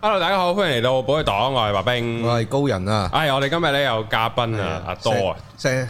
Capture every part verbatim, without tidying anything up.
Hello， 大家好，歡迎嚟到寶藥黨，我係白兵， 我係高人啊。 哎，我哋今日咧有嘉賓啊，阿多啊。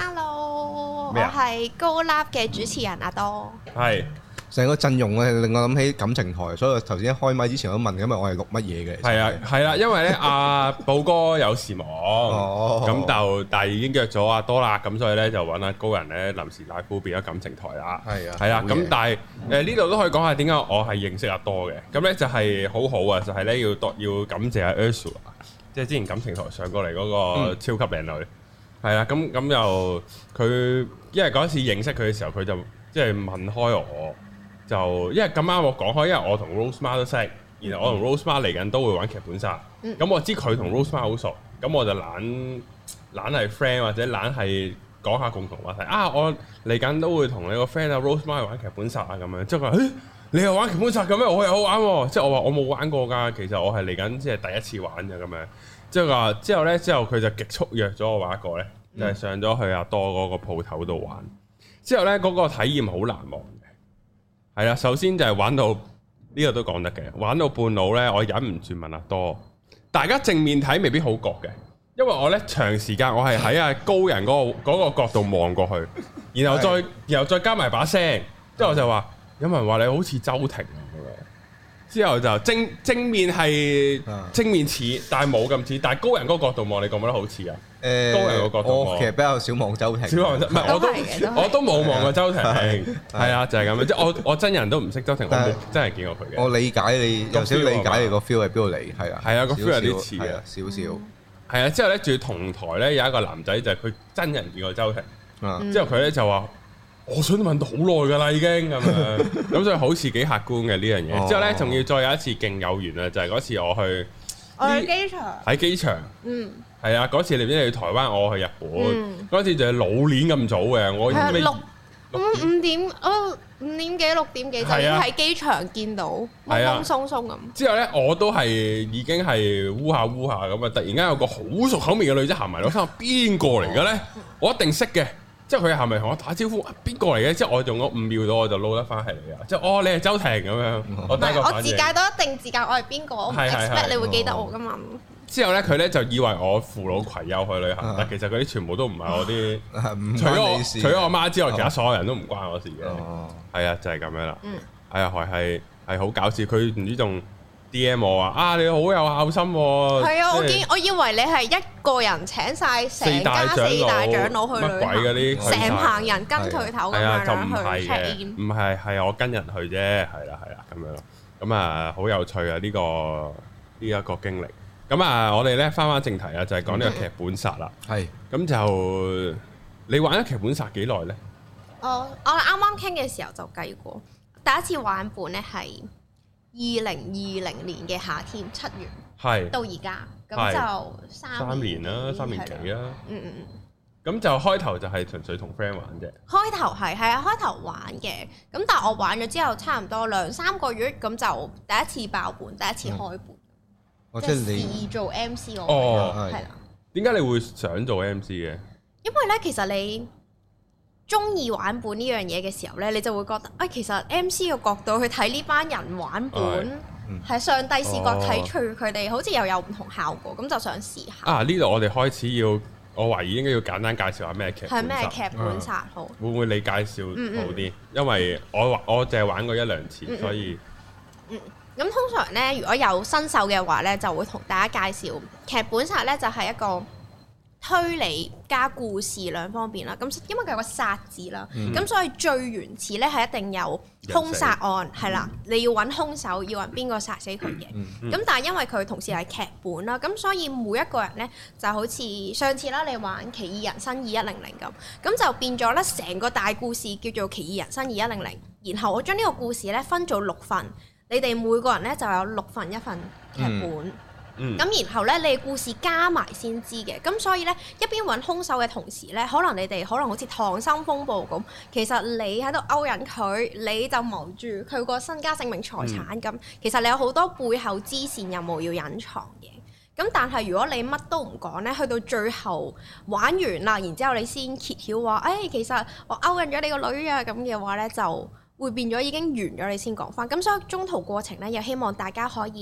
Hello，我係高 Love 嘅主持人阿多。 係。 成個陣容咧令我諗起感情台，所以我頭先一開麥之前我都問，因為我係錄乜嘢嘅？ 係啊，係啦，因為咧阿寶哥有事忙，咁就但係已經約咗阿多啦，咁所以咧就揾阿高人咧臨時拉夫變咗感情台啦。 係啊， 係啦，咁但係誒呢度都可以講下點解我係認識阿多嘅。咁咧就係好好啊，就係咧要多要感謝阿 Ursula， 即係之前感情台上過嚟嗰個超級靚女。係啦，咁咁又佢因為嗰次認識佢嘅時候，佢就即係問開我。就因為咁啱我講開，因為我同 Rosemar 都識，然後我同 Rosemar 嚟緊都會玩劇本殺，咁、嗯、我知佢同 Rosemar 好熟，咁我就懶懶係 friend 或者懶係講下共同話題啊！我嚟緊都會同你個 friend 啊 Rosemar 去玩劇本殺啊咁樣，即係佢話誒你又玩劇本殺咁咩？我又好玩喎、啊！即係我話我冇玩過㗎，其實我係嚟緊即係第一次玩嘅咁樣。即係話之後咧，之後佢就極速約咗我玩一個咧，就係、是、上咗去阿多嗰個鋪頭度玩。之後咧嗰、那個體驗好難忘。係啦，首先就係玩到呢、這個都講得嘅，玩到半路呢，我忍唔住問阿多，大家正面睇未必好覺嘅，因為我呢長時間我係喺阿高人嗰、那個嗰個角度望過去，然後再然後再加埋把聲，之後我就話有人話你好似周庭咁樣，之後就正正面係正面似，但係冇咁似，但係高人嗰個角度望，你覺唔覺得好似啊？誒，高人個角度我其實比較少望周庭， 少望唔係我都我都冇望過周庭，係啊，就係咁樣，即係我我真人都唔識周庭，我冇真係見過佢嘅。 我理解你有少理解你個 feel 喺邊度嚟，係啊， 係啊，個 feel 有啲似啊， 少少。 係啊，之後咧仲要同台咧有一個男仔就係佢真人見過周庭，之後佢咧就話我想問到好耐㗎啦已經咁樣，咁所以好似幾客觀嘅呢樣嘢。之後咧仲要再有一次勁有緣啊，就係嗰次我去我去機場喺機場，嗯。係啊，嗰次你邊去台灣，我去日本。嗰、嗯、次就係老年咁早嘅，我六五五點哦五點幾六點幾就喺機場見到，懵懵鬆鬆咁。之後咧，我都係已經係烏下烏下咁啊！突然間有個好熟口面嘅女仔行埋嚟，我心諗邊個嚟嘅咧？我一定識嘅。之後佢行埋同我打招呼，邊個嚟嘅？之後我用咗五秒到，我就撈得翻係你啊！即係哦，你係周庭咁樣。我第一個反應我自介都一定自介我係邊個，我唔 expect 你會記得我噶嘛。 之後咧，佢咧就以為我扶老攜幼去旅行，啊、但其實嗰啲全部都唔係我啲，除咗我除咗我媽之外，哦、其他所有人都唔關我事嘅。係啊、哦，就係、是、咁樣啦。嗯，係啊，係係係好搞笑。佢唔知仲 D M 我話啊，你好有孝心喎。係啊，我見我以為你係一個人請晒成家四大長老去旅行，乜鬼嗰啲，成棚人跟佢頭咁樣去 check in。 唔係係我跟人去啫，係啦係啦咁樣咯。咁啊，好有趣啊！呢、呢個呢一、呢個經歷。咁啊，我哋咧翻返正題啊，就係講呢個劇本殺啦。係，咁就你玩咗劇本殺幾耐咧？ 我我啱啱傾嘅時候就計過，第一次玩本咧係二零二零年嘅夏天七月，係到而家，咁就三三年啦，三年幾啦。 嗯嗯嗯。 咁就開頭就係純粹同 friend 玩啫。 開頭係係啊，開頭玩嘅，咁但係我玩咗之後，差唔多兩三個月，咁就第一次爆本，第一次開本。即係試做 M C 我哦，係啦。 點解你會想做 M C 嘅？ 因為咧，其實你中意玩本呢樣嘢嘅時候咧，你就會覺得，哎，其實 M C 嘅角度去睇呢班人玩本，係上帝視角睇住佢哋，好似又有唔同效果，咁就想試下。啊！ 呢度我哋開始要，我懷疑應該要簡單介紹下咩劇本殺。係咩劇本殺好？ 會唔會你介紹好啲？因為我我淨係玩過一兩次，所以嗯。咁通常咧，如果有新手嘅話咧，就會同大家介紹劇本殺咧，就係一個推理加故事兩方面啦。咁因為佢有個殺字啦，咁、嗯、所以最原始咧係一定有兇殺案係啦，你要揾兇手，要揾邊個殺死佢嘅。咁、嗯嗯、但係因為佢同時係劇本啦，咁所以每一個人咧就好似上次啦，你玩《奇異人生二一零零》咁，咁就變咗咧成個大故事叫做《奇異人生二一零零》，然後我將呢個故事咧分做六份。你哋每個人咧就有六份一份劇本，咁、嗯嗯、然後咧你故事加埋先知嘅，咁所以咧一邊揾兇手嘅同時咧，可能你哋可能好似溏心風暴咁，其實你喺度勾引佢，你就謀住佢個身家性命財產咁，嗯、其實你有好多背後支線任務要隱藏嘅。咁但係如果你乜都唔講咧，去到最後玩完啦，然之後你先揭曉話，誒、哎、其實我勾引咗你個女啊咁嘅話咧就會變咗已經完咗，你先講翻。咁所以中途過程咧，又希望大家可以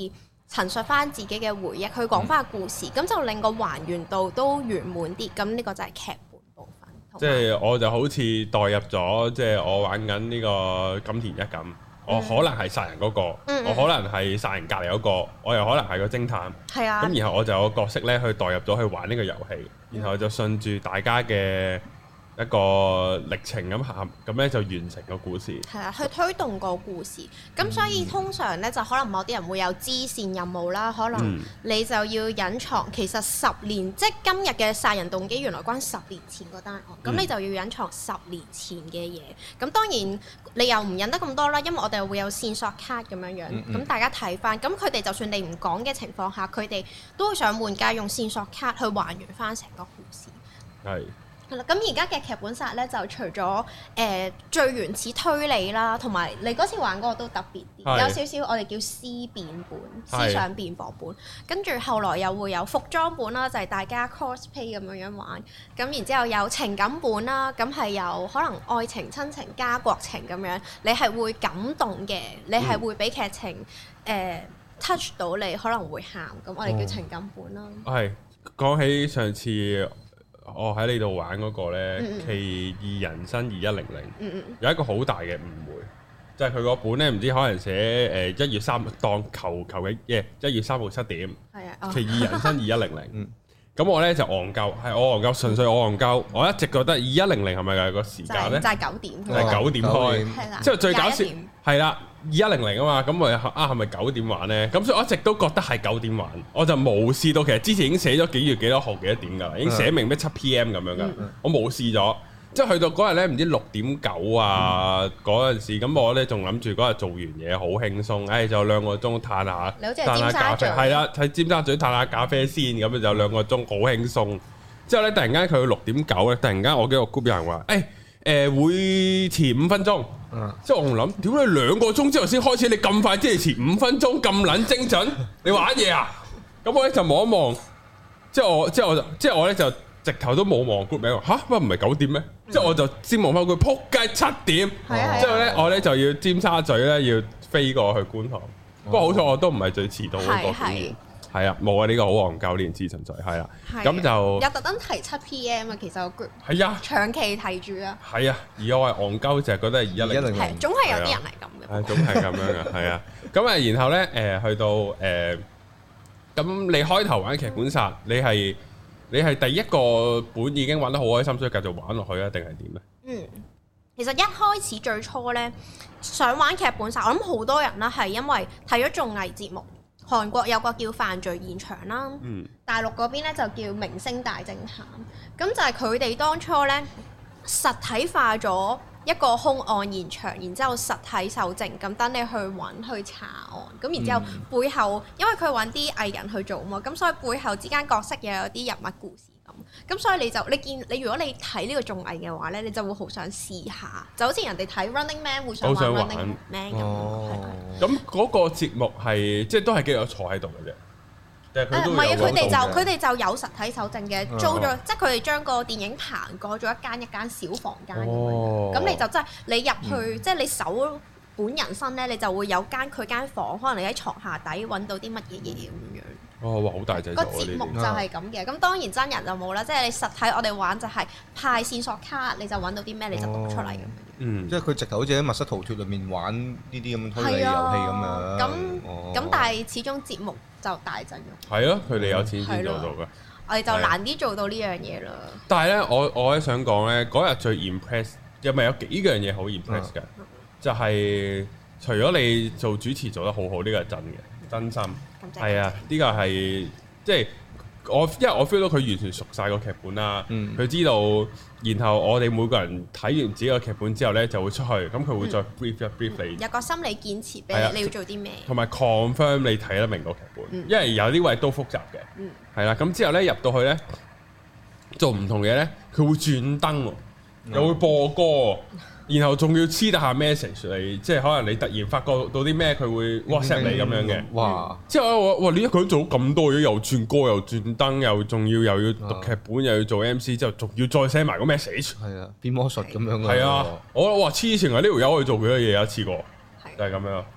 陳述翻自己嘅回憶，去講翻個故事，咁、嗯、就令個還原度都圓滿啲。咁呢個就係劇本部分。 即係我就好似代入咗，即係我玩緊呢個金田一咁。我可能係殺人嗰個，嗯、我可能係殺人隔離嗰個，我又可能係個偵探。係啊。咁然後我就有個角色咧，去代入咗去玩呢個遊戲，然後就順住大家嘅一個歷程咁行，咁咧就完成個故事。係啊，去推動個故事。咁所以通常咧，就可能某啲人會有支線任務啦，可能你就要隱藏。其實十年，即係今日嘅殺人動機，原來關十年前嗰單案。咁、嗯、你就要隱藏十年前嘅嘢。咁當然你又唔忍得咁多啦，因為我哋會有線索卡咁樣樣。咁、嗯嗯、大家睇翻，咁佢哋就算你唔講嘅情況下，佢哋都會想玩家用線索卡去還原翻成個故事。係。係啦，咁而家嘅劇本殺咧，就除咗誒、呃、最原始推理啦，同埋你嗰次玩嗰個都特別啲，是有少少我哋叫思辨本、思想辯駁本。跟住後來又會有服裝本啦，就係、是、大家 cosplay 咁樣樣玩。咁然之後有情感本啦，咁係有可能愛情、親情、家國情咁樣，你係會感動嘅，你係會俾劇情誒、嗯呃、touch 到你，可能會喊。咁我哋叫情感本啦。係講起上次。我喺呢度玩嗰個咧，嗯嗯奇異人生二一零零，嗯嗯有一個好大嘅誤會，就係佢個本咧，唔知可能寫誒一月三當求求嘅耶一月三號七點，係啊，哦、奇異人生二一零零，咁我咧就戇鳩，係我戇鳩，純粹我戇鳩，我一直覺得二一零零係咪係個時間咧？就係九點，就係九點開，之後最搞笑係啦。二一零零啊嘛，咁我啊係咪九點玩咧？咁所以我一直都覺得係九點玩，我就無視到其實之前已經寫咗幾月幾多號幾多點㗎啦，已經寫明咩七 P.M. 咁樣㗎，嗯、我無視咗。即係去到嗰日咧，唔知六點九啊嗰陣、嗯、時，咁我咧仲諗住嗰日做完嘢好輕鬆，誒、哎、就兩個鐘嘆下，嘆下咖啡，係啦，喺尖沙咀嘆下咖啡先，咁就兩個鐘好輕鬆。之後咧突然間佢到六點九咧，突然間我幾個 group 有人話，誒、哎。誒、呃、會遲五分鐘，嗯、即係我唔諗，屌你兩個鐘之後先開始，你咁快即係遲五分鐘咁撚精準，你玩嘢啊？咁我咧就望一望，即係我即係我就即係我咧就直頭都冇望 group 名，嚇乜唔係九點咩？嗯、即係我就先望翻佢，撲街七點，之後咧我咧就要尖沙咀咧要飛過去觀塘，哦、不過好彩我都唔係最遲到嗰個。係啊，冇啊，呢個好戇鳩呢件事存在，係啦，咁就有特登提七 P.M. 啊，其實個 group 係啊， 長期提住啊， 係啊，而我係戇鳩，就係覺得係二一零零， 係總係有啲人係咁嘅， 係總係咁樣嘅，係啊，咁啊，然後咧誒去到誒，咁你開頭玩劇本殺，你係你係第一個本已經玩得好開心，所以繼續玩落去啊，定係點咧？嗯，其實一開始最初咧想玩劇本殺，我諗好多人啦係因為睇咗綜藝節目。韓國有個叫犯罪現場啦，嗯、大陸嗰邊咧就叫明星大偵探，咁就係佢哋當初咧實體化咗一個兇案現場，然之後實體搜證，咁等你去揾去查案，咁然之後背後因為佢揾啲藝人去做嘛，咁所以背後之間角色又有啲人物故事。咁所以你就你見你如果你睇呢個綜藝嘅話咧，你就會好想試下，就好似人哋睇 Running Man 會想玩 Running Man 咁。咁嗰個節目係即係都係幾個坐喺度嘅啫。誒唔係啊，佢哋就佢哋就有實體搜證嘅，租咗、哦、即係佢哋將個電影棚改咗一間一間小房間咁樣。咁、哦、你就即係你入去，嗯、即係你搜本人身咧，你就會有間佢間房，可能你喺床下底揾到啲乜嘢嘢咁樣。哦，哇，好大隻！個節目就係咁嘅，咁當然真人就冇啦，即係你實體我哋玩就係派線索卡，你就揾到啲咩你就讀出嚟咁樣。嗯，即係佢直頭好似喺密室逃脫裏面玩呢啲咁推理遊戲咁樣。咁咁，但係始終節目就大陣容。係啊，佢哋有錢先做到嘅。我哋就難啲做到呢樣嘢啦。但係咧，我我咧想講咧，嗰日最 impress 又咪有幾樣嘢好 impress 嘅，就係除咗你做主持做得好好，呢個係真嘅。真心係啊！呢個係即係我，因為我 feel 到佢完全熟晒個劇本啦。佢、嗯、知道，然後我哋每個人睇完自己個劇本之後咧，就會出去，咁佢會再 brief 一 brief 你、嗯，有個心理建設俾你，啊、你要做啲咩，同埋 confirm 你睇得明個劇本，嗯、因為有啲位都複雜嘅。係啦、嗯，咁、啊、之後咧入到去咧做唔同嘢咧，佢會轉燈喎，嗯、又會播歌。然後仲要黐得下 message 嚟，即係可能你突然發覺到啲咩，佢會 WhatsApp 你咁樣嘅。哇！之後我哇，你一個人做咁多嘢，又轉歌，又轉燈，又仲要又要讀劇本，又要做 M C，之後仲要再寫埋個 message。係啊，變魔術咁樣嘅。係啊，我哇黐線啊！呢條友可以做幾多嘢一次過，就係咁樣。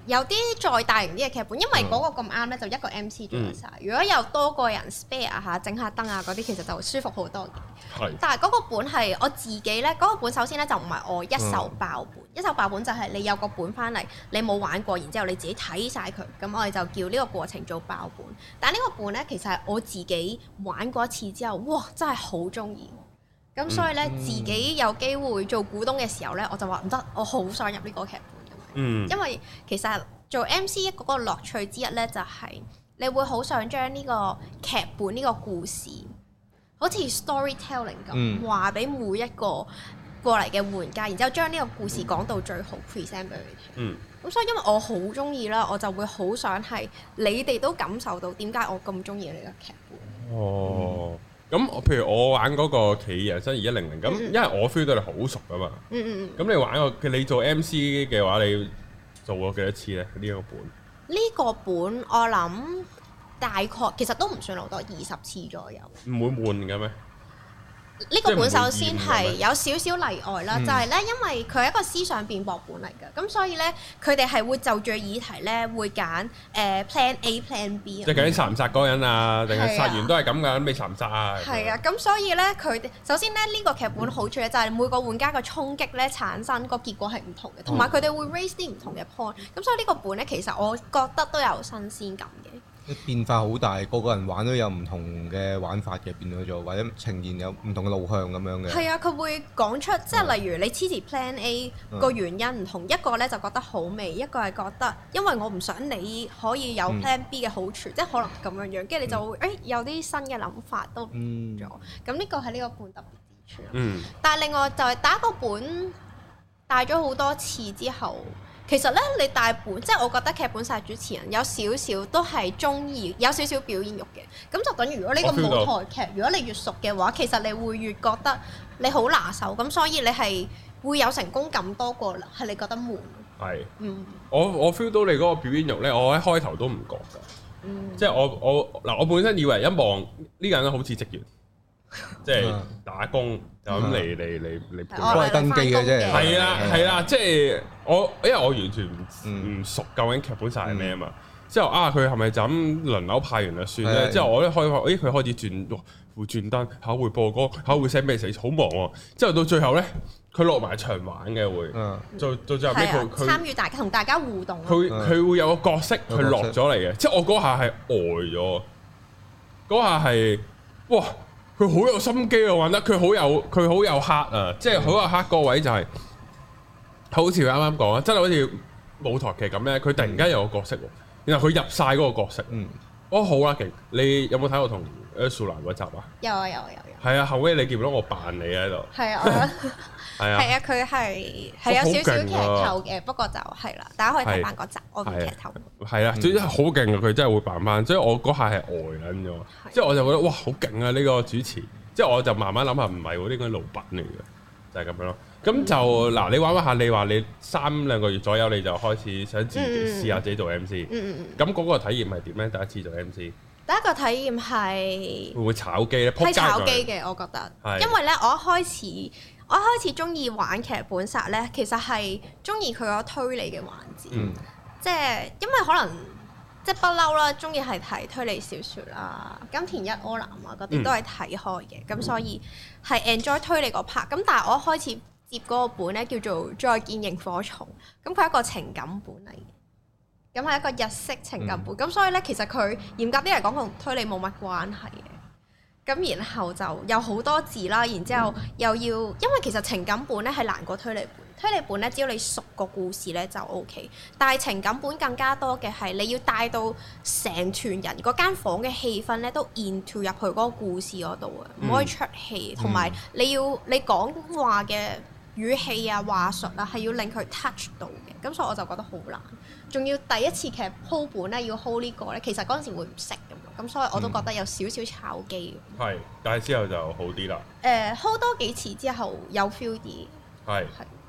有啲再大型啲嘅劇本，因為嗰個咁啱咧，就一個 M C 做得晒。嗯、如果有多個人 spare 下，整下燈啊嗰啲，其實就舒服好多嘅。係。但係嗰個本係我自己咧，嗰、嗰個本首先咧就唔係我一手爆本，嗯、一手爆本就係你有個本翻嚟，你冇玩過，然之後你自己睇晒佢，咁我哋就叫呢個過程做爆本。但係呢個本咧，其實係我自己玩過一次之後，哇，真係好中意。咁所以咧，嗯、自己有機會做股東嘅時候咧，我就話唔得，我好想入呢個劇本。嗯，因為其實做 M C 嗰個樂趣之一咧，就係你會好想將呢個劇本呢個故事，好似 storytelling 咁，話俾、嗯、每一個過嚟嘅玩家，然之後將呢個故事講到最好 present 俾佢聽。嗯，咁所以因為我好中意啦，我就會好想係你哋都感受到點解我咁中意呢個劇本。哦。嗯咁我譬如我玩嗰個《奇異人生二一零零》，咁因為我 feel 到你好熟噶嘛，嗯嗯嗯，咁你玩個你做 M C 嘅話，你做過幾多次咧？呢、這個本呢個本我諗大概其實都唔算好多，二十次左右。唔會悶嘅咩？呢個本首先係有少少例外啦，就係咧，因為佢係一個思想辯駁本嚟嘅，咁所以咧，佢哋係會就住議題咧，會揀誒 Plan A、Plan B。即係究竟殺唔殺嗰個人啊？定係殺完都係咁㗎？未殺唔殺啊？係啊，咁所以咧，佢哋首先咧，呢個劇本好處咧，就係每個玩家嘅衝擊咧，產生個結果係唔同嘅，同埋佢哋會 raise 啲唔同嘅 point。咁所以呢個本咧，其實我覺得都有新鮮感嘅。變化好大，個個人玩都有唔同嘅玩法嘅，變咗做或者呈現有唔同嘅路向咁樣嘅。係啊，佢會講出即係例如你支持 Plan A 個原因唔同，嗯、一個咧就覺得好味，一個係覺得因為我唔想你可以有 Plan B 嘅好處，嗯、即係可能咁樣樣，跟住你就會誒、欸、有啲新嘅諗法都咗。咁呢個係呢個本特別之處。嗯。但係另外就係打個本帶咗好多次之後。其實咧，你大本即係我覺得劇本殺主持人有少少都係中意有少少表演欲嘅，咁就等於如果呢個舞台劇，如果你越熟嘅話，其實你會越覺得你好拿手，咁所以你係會有成功感多過係你覺得悶。係，嗯，我我 feel 到你嗰個表演欲咧，我喺開頭都唔覺㗎，嗯、即係我我嗱我本身以為一望呢個人好似職員。即係打工就咁嚟嚟嚟嚟幫佢登記嘅啫，係啦係啦，即係我因為我完全唔唔熟究竟劇本殺係咩啊嘛，之後啊佢係咪就咁輪流派完就算咧？之後我一開發，咦佢開始轉會轉燈，考會播歌，考會 send message，好忙喎。之後到最後咧，佢落埋場玩嘅會，做到最後尾佢參與大家同大家互動，佢佢會有個角色佢落咗嚟嘅，即係我嗰下係呆咗，嗰下係哇！佢好有心機啊，玩得佢好有佢好有黑啊，即係好有黑個位就係、是，好似佢啱啱講啊，真係好似舞台劇咁咧，佢突然間有個角色，然後佢入晒嗰個角色，嗯，哦好啦，勁，你有冇睇過同 Ursula 嗰集啊？有啊有啊有有。係啊，後尾你見到我扮你喺度。係啊，係啊，係啊，佢係係有少少劇透嘅，不過就係啦，大家可以睇翻嗰集，我唔劇透。係啊，總之係好勁啊！佢真係會扮翻，所以我嗰下係呆撚咗，即係我就覺得哇好勁啊！呢個主持，即係我就慢慢諗下，唔係喎，呢個老闆嚟嘅，就係咁樣咯。咁就嗱，你玩玩下，你話你三兩個月左右你就開始想自己試下自己做 M C，嗯嗯，咁嗰個體驗係點咧？第一次做 M C。第一個體驗係會唔會炒機咧？係炒機嘅，我覺得。係。因為咧，我一開始我一開始中意玩劇本殺咧，其實係中意佢個推理嘅環節。嗯。即係因為可能即係不嬲啦，中意係睇推理小説啦，金田一柯南啊嗰啲都係睇開嘅，咁、嗯、所以係 enjoy 推理嗰 part。咁但係我一開始接嗰個本咧叫做《再見螢火蟲》，咁佢係一個情感本嚟嘅。咁係一個日式情感本，咁、嗯、所以咧，其實佢嚴格啲嚟講同推理冇乜關係嘅。咁然後就有好多字啦，然之後又要，因為其實情感本咧係難過推理本，推理本咧只要你熟個故事咧就 O K，但係情感本更加多嘅係你要帶到成團人嗰間房嘅氣氛咧都 into 入去嗰個故事嗰度啊，唔可以出戲，同埋、嗯、你要你講話嘅語氣啊話術啊係要令佢 touch 到嘅，咁所以我就覺得好難。仲要第一次劇鋪本咧，要 hold 呢個咧，其實嗰陣時會唔識咁，咁所以我都覺得有少少炒機。係、嗯，但係之後就好啲啦。誒、呃、hold 多幾次之後有 feel 啲。係。係。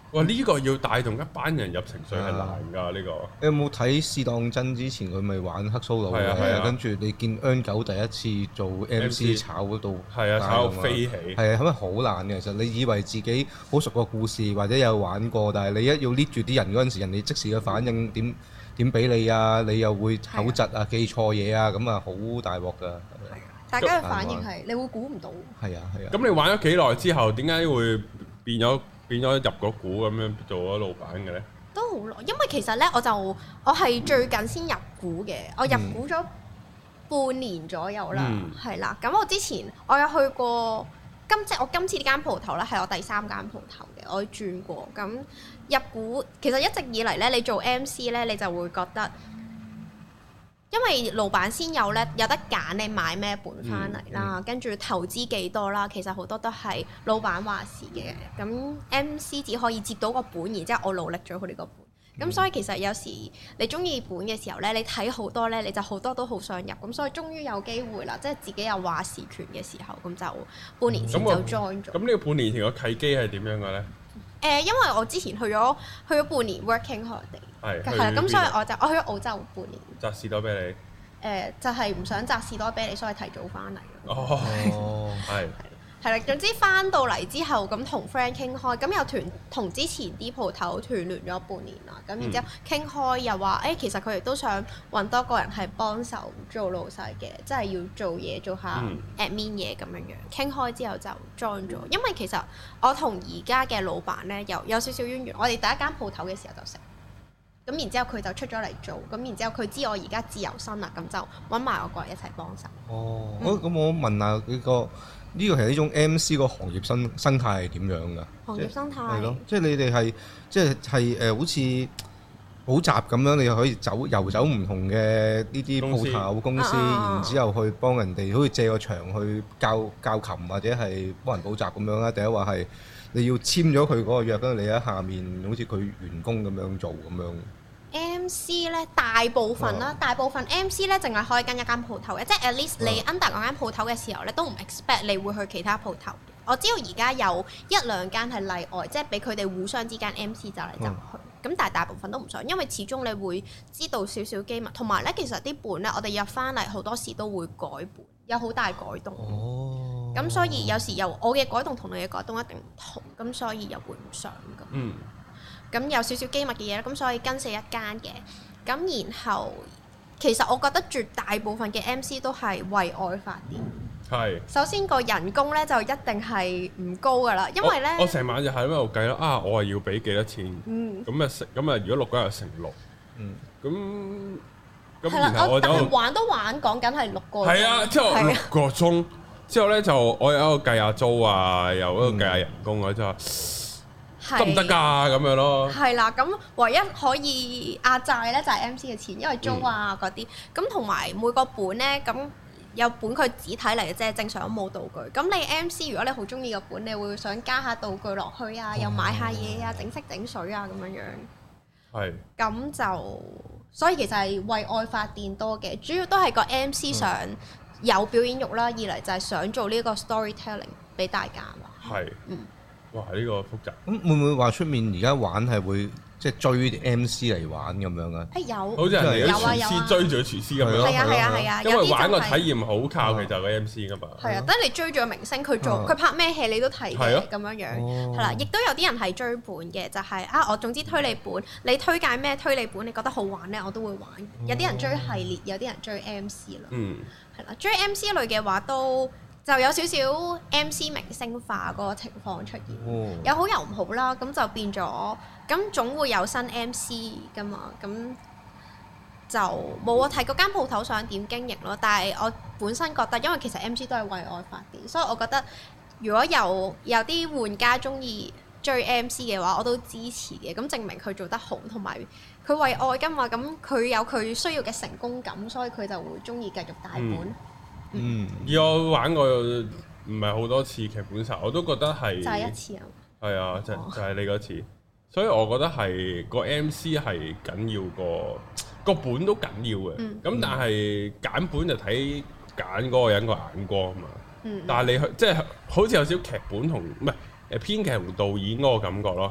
哇！呢個要帶動一班人入情緒係難㗎，呢個。 你有冇睇試當真之前佢咪玩黑 solo 嘅？係啊， 跟住你見 N 九第一次做 M C 炒嗰度， 係啊，炒到飛起。 係啊，咁咪好難嘅。其實你以為自己好熟個故事或者有玩過，但係你一要 lead 住啲人嗰陣時，人哋即時嘅反應點點俾你啊？你又會口窒啊、記錯嘢啊，咁啊好大鑊㗎。 大家嘅反應係你會估唔到。係啊係啊。 咁你玩咗幾耐之後，點解會變咗？變咗入咗股咁樣做咗老闆嘅咧， 都好耐，因為其實咧我就我係最近先入股嘅，我入股咗半年左右啦，係啦、嗯。咁我之前我有去過今即係我今次呢間鋪頭咧係我第三間鋪頭嘅，我轉過。咁入股其實一直以嚟咧，你做 M C 咧，你就會覺得。因為老闆先有咧，有得揀你買咩本翻嚟啦，嗯嗯、跟住投資幾多啦，其實好多都係老闆話事嘅。咁 M C 只可以接到個本，然之後我努力咗佢呢個本。咁、嗯、所以其實有時你中意本嘅時候咧，你睇好多咧，你就好多都好想入。咁所以終於有機會啦，即係自己有話事權嘅時候，咁就半年前就 join 咗。 咁呢個半年前個契機係點樣嘅咧？ 誒、呃，因為我之前去咗去咗半年 working holiday，係係啦，咁所以我就我去咗澳洲半年。摘士多啤梨？誒、呃，就係、是、唔想摘士多啤梨，所以提早翻嚟。 哦，係。 係啦，總之翻到嚟之後，咁同 friend 傾開，咁又團同之前啲鋪頭團聯咗半年啦。咁然之後傾開又話，誒、欸、其實佢哋都想揾多個人係幫手做老細嘅，即係要做嘢做下 admin 嘢咁樣樣。傾開之後就 join 咗，因為其實我同而家嘅老闆咧有有少少淵源。我哋第一間鋪頭嘅時候就識，咁然之後佢就出咗嚟做，咁然之後佢知我而家自由身啦，咁就揾埋我過嚟一齊幫手。哦， 咁、嗯、我問下呢個。呢個其實呢種 M C 個行業生生態係點樣㗎？ 行業生態係咯，即係你哋係即係係誒，好似補習咁樣，你又可以走遊走唔同嘅呢啲鋪頭公司，然之後去幫人哋，好似借個場去教教琴或者係幫人補習咁樣啦。第一話係你要簽咗佢嗰個約，跟住你喺下面好似佢員工咁樣做咁樣。 M C 咧大部分啦，啊、大部分 M C 咧淨係開緊一間鋪頭嘅，即係 at least 你 under 嗰間鋪頭嘅時候咧，都唔 expect 你會去其他鋪頭。我知道而家有一兩間係例外，即係俾佢哋互相之間 M C 走嚟走去。咁、啊、但係大部分都唔想，因為始終你會知道少少機密，同埋咧其實啲本咧我哋入翻嚟好多時都會改本，有好大改動。哦。咁所以有時又我嘅改動同你嘅改動一定唔同，咁所以又會唔想㗎。嗯。咁有少少機密嘅嘢啦，咁所以跟死一間嘅，咁然後其實我覺得絕大部分嘅 M C 都係為愛發電。係是。首先個人工咧就一定係唔高噶啦，因為咧我成晚就喺度計啦，啊我係要俾幾多錢？嗯。咁啊成，咁啊如果六個人乘六，嗯。咁咁然後我就玩都玩，講緊係六個。係啊，之後六個鐘，之後咧就我有一個計下租啊，又一個計下人工啊，之後。得唔得㗎？咁樣咯。係啦，咁唯一可以壓債咧就係 M C 嘅錢，因為租啊嗰啲。咁同埋每個本咧，咁有本佢只睇嚟嘅啫，正常都冇道具。咁你 M C 如果你好中意個本，你會想加下道具落去啊，又買下嘢啊，整色整水啊咁樣樣。係。咁就所以其實係為愛發電多嘅，主要都係個 M C 想有表演欲啦，二嚟就係想做呢個 storytelling 俾大家嘛。係。嗯。哇！呢、呢個複雜。咁會唔會話出面而家玩係會即係追啲 M C 嚟玩咁樣啊？誒有，好似人哋啲廚師追住個廚師咁樣。係啊係啊係啊，因為玩個體驗好靠其實個 M C 噶嘛。係啊，等你追住個明星，佢做佢拍咩戲你都睇嘅咁樣樣。係啦，亦都有啲人係追本嘅，就係啊我總之推你本，你推介咩推理本，你覺得好玩咧，我都會玩。有啲人追系列，有啲人追 M C 啦。嗯。係啦，追 M C 類嘅話都。就有少少 M C 明星化嗰個情況出現，哦、有好有唔好啦，咁就變咗，咁總會有新 M C 噶嘛，咁就冇我睇嗰間鋪頭想點經營咯。但係我本身覺得，因為其實 M C 都係為愛發電，所以我覺得如果有有啲玩家中意追 M C 嘅話，我都支持嘅。咁證明佢做得好，同埋佢為愛噶嘛，咁佢有佢需要嘅成功感，所以佢就會中意繼續帶本。嗯嗯，而我玩過唔係好多次劇本殺，我都覺得係就係一次啊，係啊，就就係你嗰次，所以我覺得係個 M C 係緊要過個本都緊要嘅，咁、嗯、但係揀本就睇揀嗰個人個眼光啊嘛，嗯、但係你去即係好似有少少劇本同唔係誒編劇同導演嗰個感覺咯，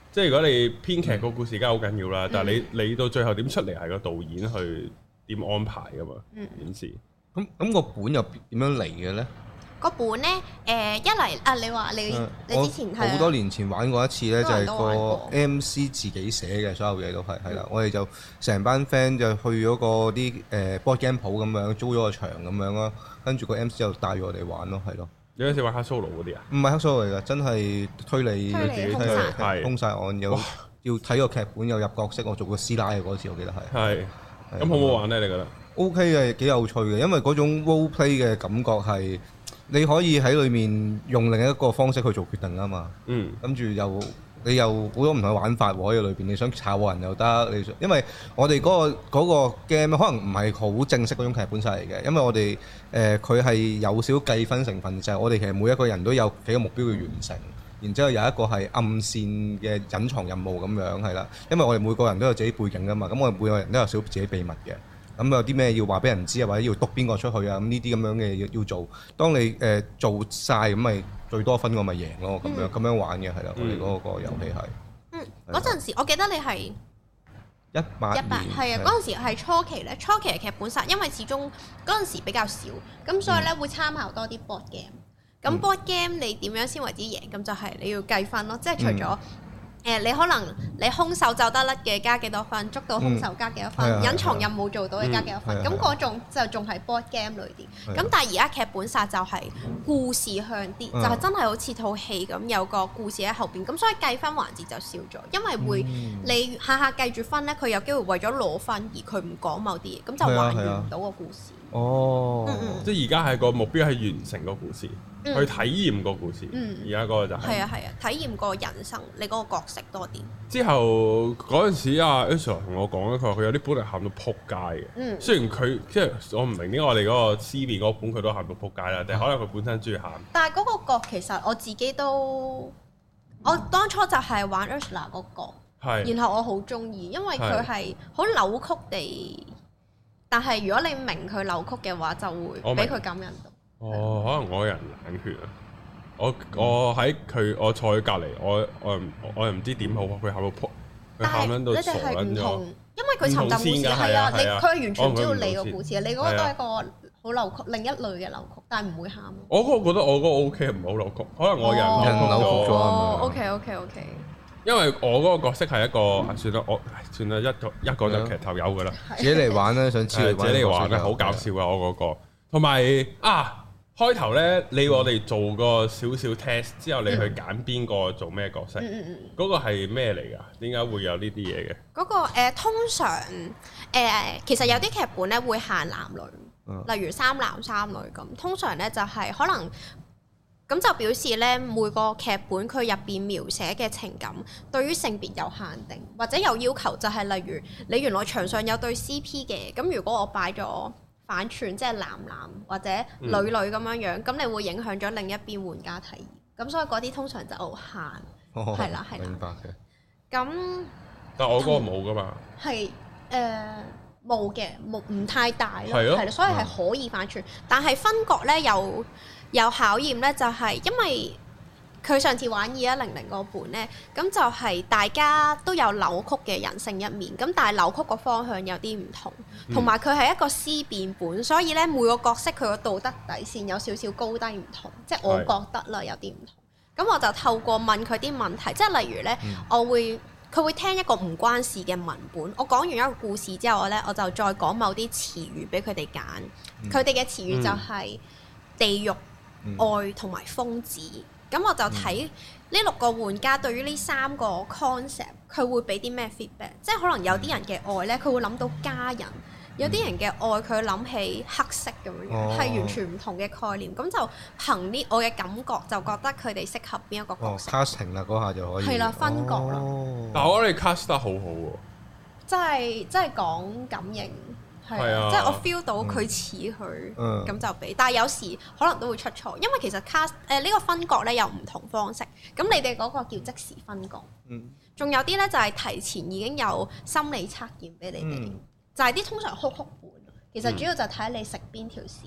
即係如果你編劇個故事梗係好緊要啦，嗯、但係你你到最後點出嚟係個導演去點安排噶嘛？件事咁咁個本又點樣嚟嘅咧？ 個本咧，誒、呃、一嚟啊，你話你、嗯、你之前係好多年前玩過一次咧，就係個 M C 自己寫嘅，所有嘢都係係啦。我哋就成班 friend 就去咗個啲誒 board game 鋪咁樣，租咗個場咁樣咯，跟住個 M C 就帶住我哋玩咯，係咯。你有陣時玩黑 solo 嗰啲啊？ 唔係黑 solo 嚟㗎，真係推理推理兇殺， 兇殺案有要睇個劇本，有入角色，我做個師奶嘅嗰次，我記得係。係。 咁好唔好玩咧？你覺得 ？O K 嘅，幾有趣嘅，因為嗰種 role play 嘅感覺係。你可以喺裏面用另一個方式去做決定啊嘛，嗯，跟住又你又好多唔同嘅玩法喎喺裏邊，你想炒人又得，你想因為我哋嗰、嗰個嗰個 game 可能唔係好正式嗰種劇本殺嚟嘅，因為我哋誒佢係有少少計分成分，就係、係、我哋其實每一個人都有幾個目標要完成，然之後有一個係暗線嘅隱藏任務咁樣係啦，因為我哋每個人都有自己背景噶嘛，咁我哋每個人都有少少自己秘密嘅。咁有啲咩要話俾人知啊，或者要督邊個出去啊？咁呢啲咁樣嘅嘢要做。當你誒、呃、做晒咁，咪最多分我咪贏咯。咁、嗯、樣咁樣玩嘅係啦，我哋嗰個遊戲係。 嗯，嗰陣時我記得你係一八一八係啊，嗰陣時係初期咧，初期嘅劇本殺，因為始終嗰陣時比較少，咁所以咧會參考多啲 board game。咁 board game 你點樣先為之贏？咁就係你要計分咯，即係除咗。誒，你可能你兇手走得甩嘅加幾多分，捉到兇手加幾多分，隱藏任務做到嘅加幾多分，咁嗰種就仲係 board game 裏邊。咁但係而家劇本殺就係故事向啲，就係真係好似套戲咁有個故事喺後邊，咁所以計分環節就少咗，因為會你下下計住分咧，佢有機會為咗攞分而佢唔講某啲嘢，咁就還原唔到個故事。 哦， 即係而家係個目標係完成個故事。去體驗個故事，而家嗰個就係係啊係啊，體驗個人生，你嗰個角色多啲。 之後嗰陣時，阿 Ursula 同我講咧，佢話佢有啲本係喊到撲街嘅。嗯，雖然佢即係我唔明點解我哋嗰個 C 面嗰本佢都喊到撲街啦，定係可能佢本身中意喊。 但係嗰個角其實我自己都，我當初就係玩 Ursula 嗰個，係，然後我好中意，因為佢係好扭曲地，但係如果你明佢扭曲嘅話，就會俾佢感染到。 哦，可能我個人冷血啊！我我喺佢，我坐喺隔離，我我我又唔知點好，佢喊到撲，佢喊緊到傻緊咗。 因為佢尋尋故事係啊，你佢係完全唔知道你個故事啊！你嗰個都係一個好扭曲，另一類嘅扭曲，但係唔會喊。 我嗰個覺得我嗰個 O K，唔係好扭曲，可能我人扭曲咗啊嘛。 O K O K O K。 因為我嗰個角色係一個，算啦，我算啦，一個一個就劇頭有㗎啦。 自己嚟玩啦，想知你自己嚟玩咧，好搞笑啊！我嗰個，同埋啊。開頭咧，你我哋做個少少 test 之後，你去揀邊個做咩角色？嗰、嗯嗯、個係咩嚟㗎？點解會有呢啲嘢嘅？ 嗰、嗰個、呃、通常誒、呃，其實有啲劇本咧會限男女，嗯、例如三男三女咁。通常咧就係、係、可能咁就表示咧每個劇本佢入邊描寫嘅情感對於性別有限定，或者有要求，就係例如你原來場上有對 C P 嘅，咁如果我擺咗反串即係男男或者女女咁樣樣，咁、嗯、你會影響咗另一邊玩家體驗，咁所以嗰啲通常就限，係啦係啦。明白嘅。咁， 但係我嗰個冇噶嘛。係誒冇嘅，冇唔太大咯，係啦，所以係可以反串，嗯、但係分角咧有有考驗咧，就係因為佢上次玩二一零零個本咧，咁就係大家都有扭曲嘅人性一面，咁但係扭曲個方向有啲唔同，同埋佢係一個思辨本，所以咧每個角色佢個道德底線有少少高低唔同，即係我覺得啦有啲唔同。咁是我就透過問佢啲問題，即係例如咧，嗯、我會佢會聽一個唔關事嘅文本，我講完一個故事之後咧，我就再講某啲詞語俾佢哋揀，佢哋嘅詞語就係地獄、嗯、愛同埋瘋子。咁我就睇呢六個玩家對於呢三個 concept，佢會俾啲咩 feedback？即係可能有啲人嘅愛呢，佢會諗到家人；有啲人嘅愛，佢諗起黑色咁樣，係、哦、完全唔同嘅概念。咁就憑呢我嘅感覺，就覺得佢哋適合邊一個角色。 casting 啦，嗰下就可以。 係啦，分角啦。 哦、但係我覺得你 cast 得好好喎。即係即係講感應。係啊，即係我 feel 到佢似佢，咁、嗯、就俾。但係有時可能都會出錯，因為其實 cast 誒呢個分角咧有唔同方式。咁你哋嗰個叫即時分角，仲、嗯、有啲咧就係提前已經有心理測驗俾你哋，嗯、就係啲通常哭哭本。其實主要就睇你食邊條線。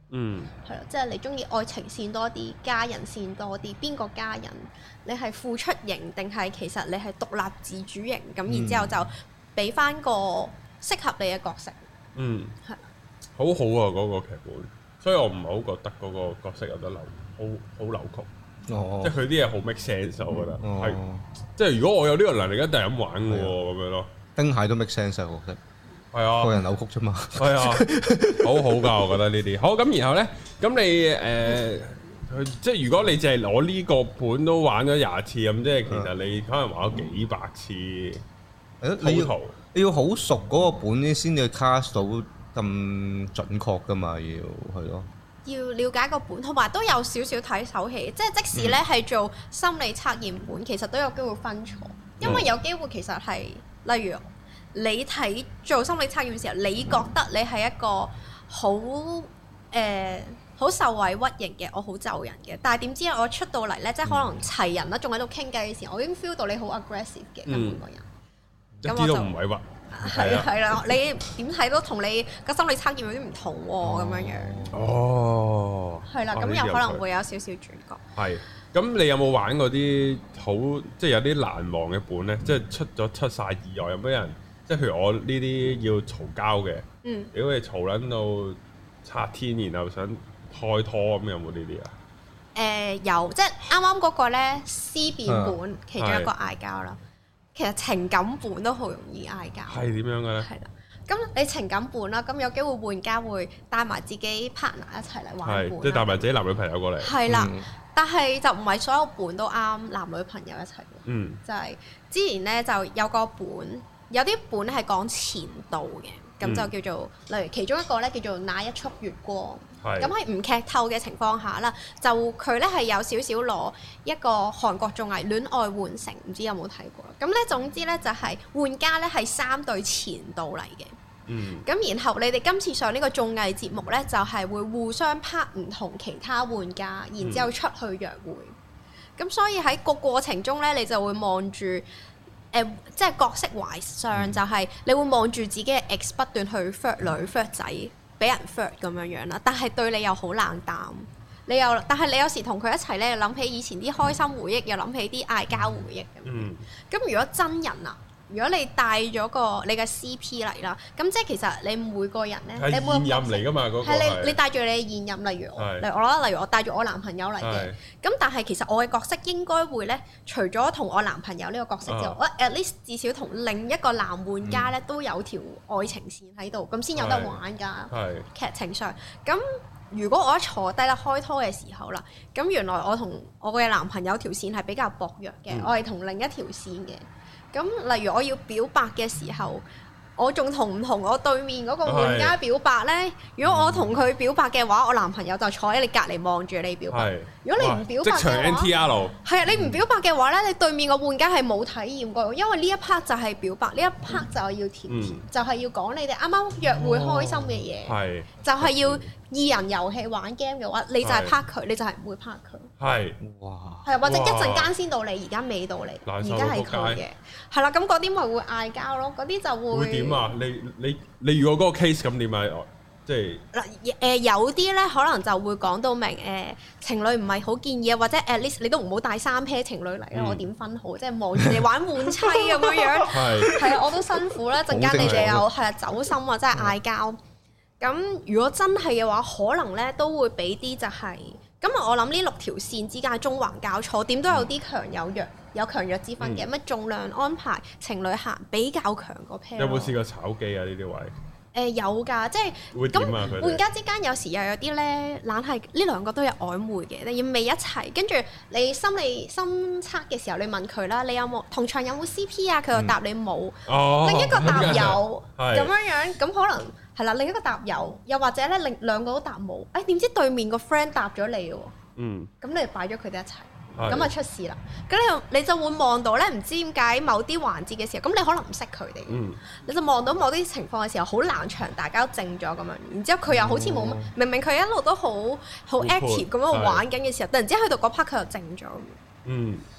嗯， 係咯，即係你中意愛情線多啲，家人線多啲，邊個家人？你係付出型定係其實你係獨立自主型？咁、嗯、然之後就俾翻個適合你嘅角色。嗯，係的， 好好啊嗰、嗰個劇本，所以我唔係好覺得嗰個角色有得扭，好好扭曲。哦，即係佢啲嘢好 make sense，我覺得係，即係如果我有呢個能力，一定係咁玩嘅喎，咁樣咯。丁蟹都 make sense 啊，我覺得。係啊，個人扭曲啫嘛。係啊，好好㗎，我覺得呢啲。好咁，然後咧，咁你誒，即係如果你淨係攞呢個盤都玩咗廿次咁，即係其實你可能玩咗幾百次。誒，你要你要好熟嗰個本先至 cast 到咁準確㗎嘛？要係咯。 要了解個本，同埋都有少少睇手氣。即係即使咧係做心理測驗本，其實都有機會分錯，因為有機會其實係例如。你睇做心理測驗嘅時候，你覺得你係一個好誒好受委屈型嘅，我好就人嘅。但係點知我出到嚟咧，即係可能齊人啦，仲喺度傾偈嘅時候，我已經 feel 到你好 aggressive 嘅根本個人。 一啲都唔委屈。 係啊係啦，你點睇都同你個心理測驗有啲唔同喎，咁樣樣。哦。係啦，咁有可能會有少少轉角。 係。咁你有冇玩過啲好即係有啲難忘嘅本咧？即係出咗出晒意外，有冇人？即係譬如我呢啲要嘈交嘅，嗯、如果你嘈撚到拆天，然後想開拖咁，有冇呢啲啊？誒、 呃、有，即係啱啱嗰個咧思辨本，啊、其中一個嗌交啦。是其實情感本都好容易嗌交。係點樣嘅咧？係啦，咁你情感本啦，咁有機會玩家會帶埋自己 partner 一齊嚟玩本， 即係帶埋自己男女朋友過嚟。 係啦。嗯但係就唔係所有本都啱男女朋友一齊嘅，嗯、就係之前咧就有個本，有啲本係講前度嘅，咁、嗯、就叫做例如其中一個咧叫做那一束月光，咁喺唔劇透嘅情況下啦，就佢咧係有少少攞一個韓國綜藝《戀愛換乘》，唔知有冇睇過？咁咧總之咧就係玩家咧係三對前度嚟嘅。咁、嗯、然後你哋今次上呢個綜藝節目呢，就係、是、會互相拍唔同其他玩家，然之後出去約會。咁、嗯、所以喺個過程中呢，你就會望住誒，即係角色懷上，嗯、就係你會望住自己嘅 ex 不斷去 flirt 女 flirt 仔，俾人 flirt 咁樣樣啦。但係對你又好冷淡，你又但係你有時同佢一齊呢，諗起以前啲開心回憶，又諗起啲嗌交回憶咁。咁、嗯、如果真人啊？如果你帶咗個你嘅 C P 嚟啦，咁即係其實你每個人咧， 係現任嚟㗎嘛，嗰個係你你帶住你嘅現任，例如我，例如我啦，例如我帶住我男朋友嚟嘅，咁但係其實我嘅角色應該會咧，除咗同我男朋友呢個角色之外，我 at least 至少同另一個男玩家咧都有條愛情線喺度，咁先有得玩㗎。係劇情上，咁如果我一坐低啦開拖嘅時候啦，咁原來我同我嘅男朋友條線係比較薄弱嘅，我係同另一條線嘅。咁例如我要表白嘅時候，我仲同唔同我對面嗰個玩家表白呢？是如果我同佢表白嘅話，我男朋友就坐喺你隔離望住你表白。是如果你唔表白嘅話，即場 N T R。係啊，你唔表白嘅話呢，你對面個玩家係冇體驗過，因為呢一 part 就係表白，呢一 part 就係要甜甜，嗯、就係要講你哋啱啱約會開心嘅嘢，哦、就係要二人遊戲玩 game 嘅話，你就係拍佢，是你就係唔會拍佢。係，哇！係啊，或者一陣間先到你，而家未到你，而家係佢嘅，係啦。咁嗰啲咪會嗌交咯，嗰啲就會。會點啊？你你你如果嗰個 case 咁點啊？即係嗱誒，有啲咧可能就會講到明誒，情侶唔係好建議啊，或者 at least 你都唔好帶三 pair 情侶嚟啊！我點分好？即係望住你玩換妻咁樣樣，係係啊，我都辛苦啦。陣間你哋又係啊走心啊，真係嗌交。咁如果真係嘅話，可能咧都會俾啲就係。咁我諗呢六條線之間係縱橫交錯，點都有啲強有弱，有強弱之分嘅。乜、嗯、重量安排情侶行比較強個 pair。有冇試過炒機啊？呢啲位？誒、呃、有㗎，即係咁玩家之間有時又有啲咧，懶係呢兩個都有曖昧嘅，你要未一齊，跟住你心理心測嘅時候，你問佢啦，你有冇同場有冇 C P 啊？佢又答你冇。哦、另一個答有咁樣樣，咁可能。係啦，另一個答有，又或者咧，另兩個都答冇。誒、哎，點知對面個 friend 答咗你喎？嗯。咁你就擺咗佢哋一齊，咁啊的出事啦。咁你你就會望到咧，唔知點解某啲環節嘅時候，咁你可能唔識佢哋。嗯。你就望到某啲情況嘅時候，好冷場，大家都靜咗咁樣。然之後佢又好似冇乜，哦、明明佢一路都好好 active 咁樣玩緊嘅時候，突然之間去到嗰 part 佢又靜咗。嗯。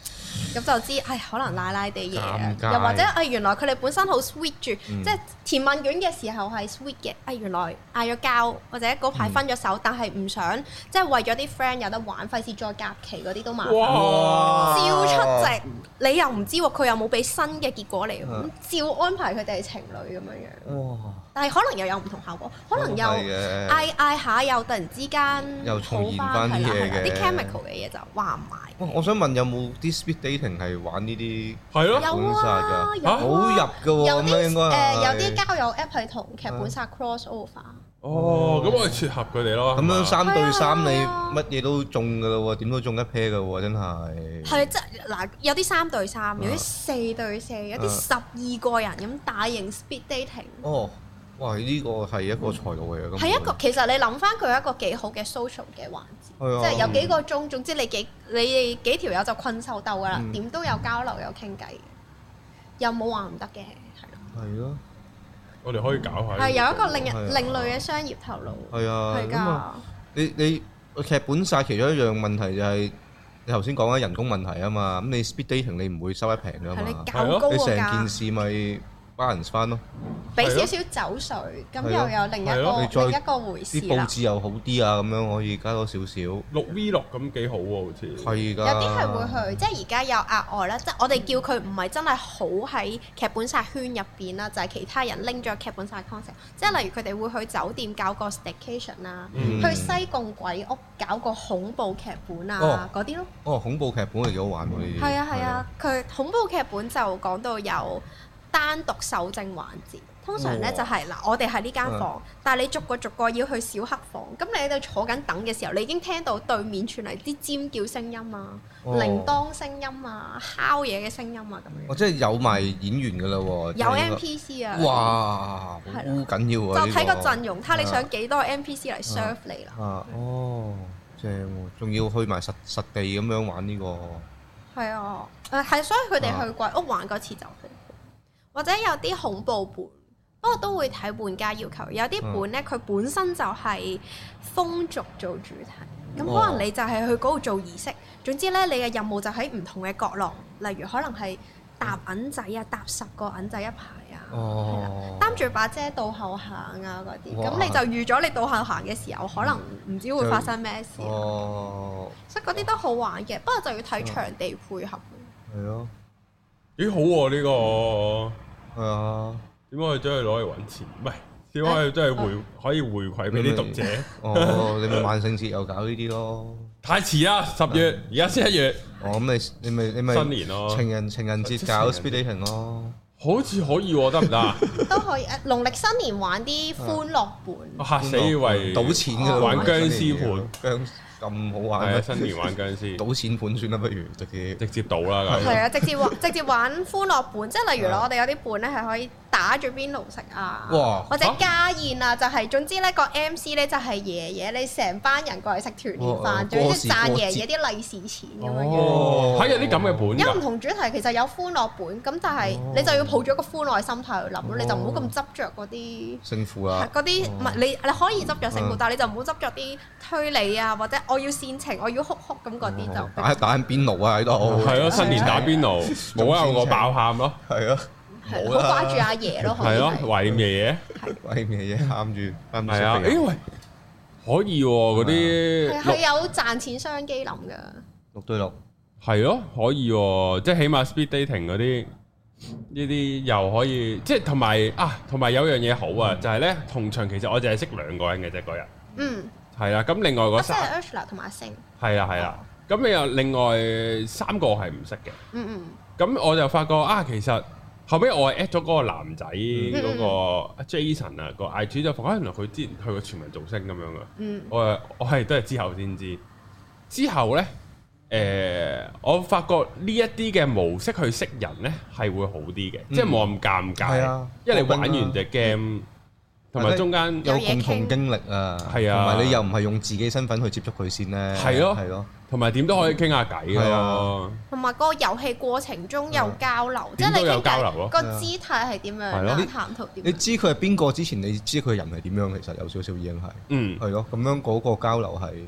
咁就知係可能奶奶地嘢啊， 尷尬又或者係原來佢哋本身好 sweet 住， 嗯即係填問卷嘅時候係 sweet 嘅，係原來嗌咗交或者嗰排分咗手， 嗯、 但係唔想即係為咗啲 friend 有得玩，費事再夾期嗰啲都麻煩， 哇照出席，你又唔知喎，佢又冇俾新嘅結果嚟，咁、 嗯、 照安排佢哋係情侶咁樣樣。 哇！ 但係可能又有唔同效果，可能又嗌嗌下又突然之間又重現翻啲嘢嘅， 啲 chemical 嘅嘢就話唔埋。 我想問有冇啲 speed dating 係玩呢啲？ 係咯， 有啊，有好入嘅喎， 有啲應該誒有啲交友 app 係同劇本殺 cross over。 哦，咁我哋撮合佢哋咯。 咁樣三對三你乜嘢都中㗎咯喎，點都中一 pair 㗎喎，真係。 係即係嗱，有啲三對三，有啲四對四，有啲十二個人咁大型 speed dating。 哦，哇！呢個係一個財路嚟嘅。 係一個其實你諗翻佢係一個幾好嘅 social 嘅環節，即係有幾個鐘，總之你幾你哋幾條友就困獸鬥㗎啦，點都有交流有傾偈，又冇話唔得嘅，係咯。 係咯。 我哋可以搞下。 係有一個另一另類嘅商業頭腦。 係啊， 係㗎。 你你劇本殺其中一樣問題就係你頭先講緊人工問題啊嘛，咁你 speed dating 你唔會收得平㗎嘛。 係你較高你成個價。 件事咪 balance 翻咯。 俾少少酒水，咁又有另一個另一個回事啦。 啲佈置又好啲啊，咁樣可以加多少少。 六 V 六咁幾好喎，好似。 係㗎。 有啲係會去，即係而家有額外啦，即係我哋叫佢唔係真係好喺劇本殺圈入邊啦，就係其他人拎咗劇本殺 concept，即係例如佢哋會去酒店搞個 staycation 啊，去西貢鬼屋搞個恐怖劇本啊嗰啲咯。 哦，恐怖劇本係幾好玩喎呢啲。 係啊係啊，佢恐怖劇本就講到有單獨搜證環節，通常咧就係嗱，我哋係呢間房，但係你逐個逐個要去小黑房，咁你喺度坐緊等嘅時候，你已經聽到對面傳嚟啲尖叫聲音啊、鈴鐺聲音啊、敲嘢嘅聲音啊咁樣。 哦，即係有埋演員㗎啦喎。 有 N P C 啊。 哇，好緊要啊！ 就睇個陣容，睇你想幾多 N P C 嚟 serve 你啦。 啊，哦，正喎，仲要去埋實實地咁樣玩呢個。 係啊，誒係，所以佢哋去鬼屋玩嗰次就好。或者有啲恐怖本，不過都會睇玩家要求。有啲本咧，佢本身就係風俗做主題，咁可能你就係去嗰度做儀式。總之咧，你嘅任務就喺唔同嘅角落，例如可能係搭銀仔啊，搭十個銀仔一排啊，係啦，擔住把遮倒後行啊嗰啲。咁你就預咗你倒後行嘅時候，可能唔知會發生咩事。哦，所以嗰啲都好玩嘅，不過就要睇場地配合。 係咯。 幾好喎呢個， 係啊， 點解佢將佢攞嚟揾錢？唔係點解佢真係回可以回饋俾啲讀者？ 哦，你咪萬聖節又搞呢啲咯？ 太遲啦，十月而家先一月。 哦，咁你你咪你咪新年咯， 情人情人節搞 speed dating 咯， 好似可以喎，得唔得啊？ 都可以誒，農曆新年玩啲歡樂本。 嚇死以為賭錢㗎， 玩僵屍盤。 咁好玩咩？新年玩僵屍， 賭錢盤算啦，不如直接直接賭啦。 係啊，直接玩直接玩歡樂本，即係例如啦，我哋有啲本咧係可以打住邊爐食啊，或者家宴啊，就係總之咧個 M C 咧就係爺爺，你成班人過嚟食團年飯，仲要賺爺爺啲利是錢咁樣樣。 係有啲咁嘅本。 有唔同主題，其實有歡樂本，咁但係你就要抱住一個歡樂嘅心態去諗咯，你就唔好咁執着嗰啲勝負啦。 嗰啲唔係你你可以執着勝負，但係你就唔好執着啲推理啊，或者我要煽情，我要哭哭咁嗰啲就打打緊邊爐啊喺度。 係咯，新年打邊爐，冇啊我爆喊咯。 係啊。 好掛住阿爺咯， 係咯，懷念爺爺， 懷念爺爺喊住， 係啊，誒喂，可以喎嗰啲， 係有賺錢商機諗㗎， 六對六， 係咯，可以喎，即係起碼 speed dating 嗰啲呢啲又可以，即係同埋啊，同埋有樣嘢好啊，就係咧同場其實我淨係識兩個人嘅啫嗰日，嗯，係啦，咁另外嗰三， 即係 Ursula 同埋阿星， 係啦係啦，咁你又另外三個係唔識嘅，嗯嗯，咁我就發覺啊，其實。後尾我係 at 咗嗰個男仔嗰個 Jason 啊個 I G 就發覺原來佢之前去過全民造星咁樣嘅，嗯、我係我係都係之後先知。之後咧，誒、呃、我發覺呢一啲嘅模式去識人咧係會好啲嘅，嗯、即係冇咁尷尬，啊、因為你玩完隻 game。同埋中間有共同經歷啊，係啊，同埋你又唔係用自己身份去接觸佢先咧， 係咯， 係咯， 同埋點都可以傾下偈咯。 同埋個遊戲過程中有交流，即係你傾偈個姿態係點樣啦，談吐點。 你知佢係邊個之前，你知佢人係點樣，其實有少少已經係，嗯，係咯，咁樣嗰個交流係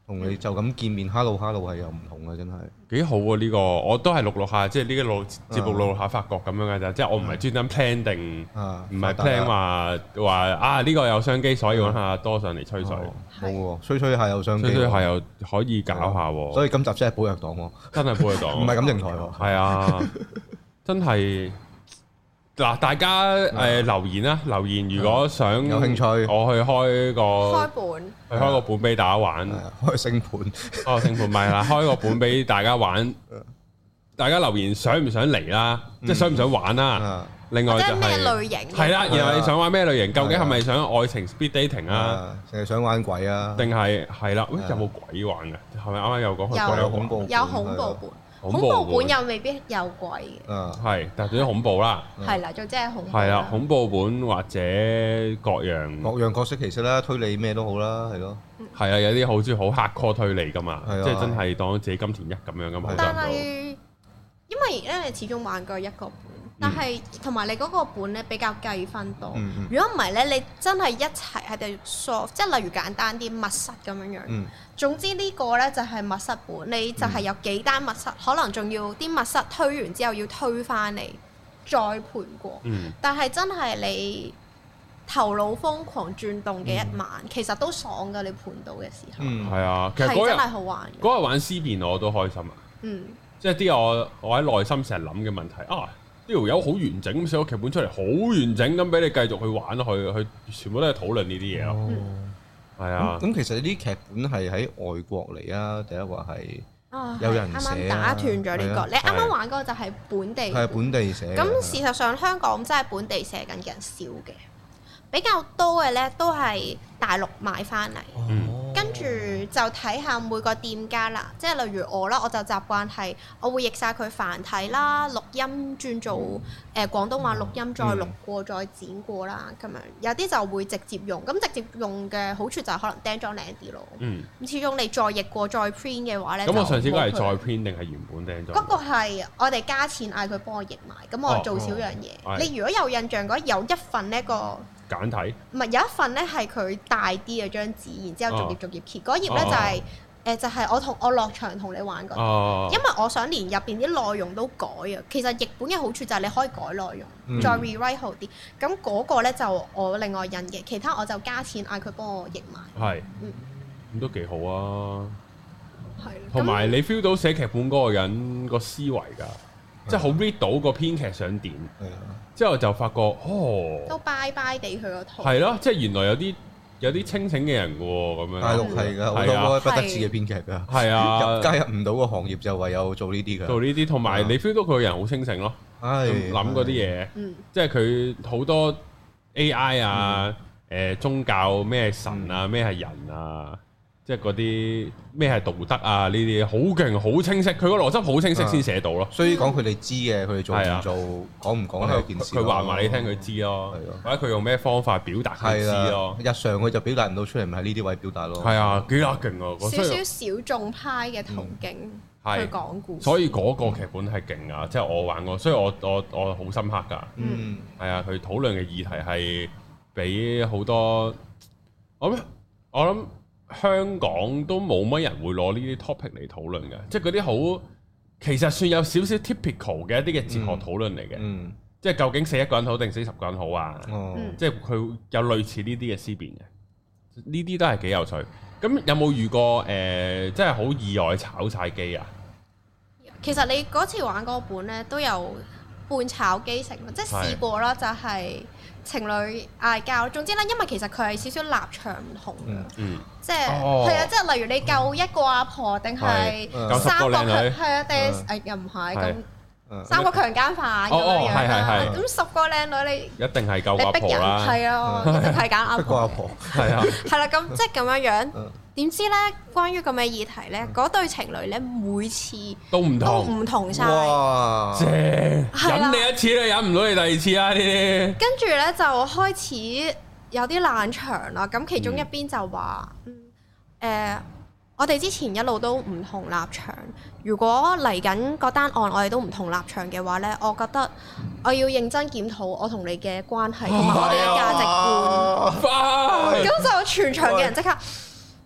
同你就咁見面 hello hello 係又唔同嘅，真係幾好喎！呢個我都係錄錄下，即係呢個錄節目錄錄下發覺咁樣嘅咋，即係我唔係專登 plan 定，唔係 plan 話話啊呢個有商機，所以揾下多上嚟吹水。 冇喎，吹吹下有商機， 吹吹下又可以搞下喎。 所以今集真係寶藥黨喎， 真係寶藥黨， 唔係感情台喎。 係啊，真係。嗱，大家誒留言啦，留言如果想有興趣， 我去開個開本， 去開個本俾大家玩， 開星盤， 開個星盤咪啦，開個本俾大家玩。大家留言想唔想嚟啦？即係想唔想玩啦？另外就係咩類型？ 係啦，然後你想玩咩類型？究竟係咪想愛情 speed dating 啊？ 定係想玩鬼啊？ 定係係啦？喂，有冇鬼玩嘅？係咪啱啱有講佢鬼有恐怖？ 有恐怖本。恐怖本又未必有鬼嘅， 啊， 係，但係總之恐怖啦， 係啦，總之係恐怖。 係啦，恐怖本或者各樣各樣角色其實啦，推理咩都好啦，係咯。 係啊，有啲好中意好 hardcore 推理噶嘛， 係啊， 即係真係當自己金田一咁樣噶嘛。 但係因為咧，你始終玩過一個本，但係同埋你嗰個本咧比較計分多。如果唔係咧，你真係一齊喺度 solve，即係例如簡單啲密室咁樣樣。 嗯總之呢個呢就係密室本，你就係有幾單密室，可能仲要啲密室推完之後要推翻嚟再盤過。 嗯、 但係真係你頭腦瘋狂轉動嘅一晚，嗯、其實都爽㗎。你盤到嘅時候， 係、嗯、啊，其實嗰日真係好玩。 嗰日玩思辨我都開心啊。 嗯， 即係啲我我喺內心成日諗嘅問題啊，呢條友好完整咁寫個劇本出嚟，好完整咁俾你繼續去玩落去，去全部都係討論呢啲嘢咯。哦嗯係啊， 咁其實呢啲劇本係喺外國嚟啊，第一話係有人寫啊。啱啱打斷咗呢個，你啱啱玩嗰個就係本地。 係本地寫。 咁事實上香港真係本地寫緊嘅人少嘅，比較多嘅咧都係大陸買翻嚟。跟住就睇下每個店家啦，即係例如我啦，我就習慣係我會譯晒佢繁體啦，錄音轉做誒、呃、廣東話錄音，再錄過再剪過啦，咁樣有啲就會直接用，咁直接用嘅好處就係可能釘裝靚啲咯。嗯，咁始終你再譯過再 print 嘅話咧，咁我上次嗰係再 print 定係原本釘裝？嗰個係我哋加錢嗌佢幫我譯埋，咁我做少樣嘢。哦哦、你如果有印象嗰有一份呢個。簡體唔係有一份咧，係佢大啲嘅張紙，然之後逐頁逐頁揭嗰頁咧就係、是、誒、呃、就係、是、我同我落場同你玩嗰啲，哦、因為我想連入邊啲內容都改啊。其實譯本嘅好處就係你可以改內容，嗯、再 rewrite 好啲。咁嗰個咧就我另外印嘅，其他我就加錢嗌佢幫我譯埋。係是，嗯，咁都幾好啊。係，同埋你 feel 到寫劇本嗰個人個思維㗎。即係好 read 到個編劇想點，之後就發覺哦，都拜拜地佢個套。係咯，即係原來有啲有啲清醒嘅人喎，咁樣。大陸係㗎，好多不得志嘅編劇㗎。係啊，加入唔到個行業就唯有做呢啲㗎。做呢啲，同埋你 feel 到佢個人好清醒咯，諗嗰啲嘢，即係佢好多 A I 啊，誒宗教咩神啊，咩係人啊。即係嗰啲咩係道德啊？呢啲好勁，好清晰。佢個邏輯好清晰先寫到咯。所以講佢哋知嘅，佢哋做唔做，講唔講係一件事。佢話埋你聽，佢知咯。或者佢用咩方法表達，佢知咯。日常佢就表達唔到出嚟，咪喺呢啲位表達咯。係啊，幾得勁啊！少少小眾派嘅途徑去講故事。所以嗰個劇本係勁啊！即係我玩過，所以我我我好深刻㗎。嗯，係啊，佢討論嘅議題係俾好多我諗我諗。香港都冇乜人會攞呢啲 topic 嚟討論嘅，即係嗰啲好其實算有少少 typical 嘅一啲嘅哲學討論嚟嘅，嗯嗯、即係究竟死一個人好定死十個人好啊？哦、即係佢有類似呢啲嘅思辨嘅，呢啲都係幾有趣。咁有冇遇過誒、呃，即係好意外炒晒機啊？其實你嗰次玩嗰本咧都有半炒機成，即係試過啦，就係、是。情侶嗌交，總之咧，因為其實佢係少少立場唔同嘅，嗯、即係係啊，即係例如你救一個阿婆定係三個強，係啊，定誒又唔係咁三個強姦犯咁樣樣啦。咁十個靚女你一定係救阿婆啦，係啊，一定係揀阿婆。阿婆係啊，係啦，咁即係咁樣樣。點知咧？關於咁嘅議題咧，嗰對情侶咧每次都唔同，都唔同晒。哇！正忍你一次咧，忍唔到你第二次啊！呢啲跟住咧就開始有啲冷場啦。咁其中一邊就話：嗯，誒、呃，我哋之前一路都唔同立場。如果嚟緊嗰單案我哋都唔同立場嘅話咧，我覺得我要認真檢討我同你嘅關係同埋我哋嘅價值觀。咁就全場嘅人即刻。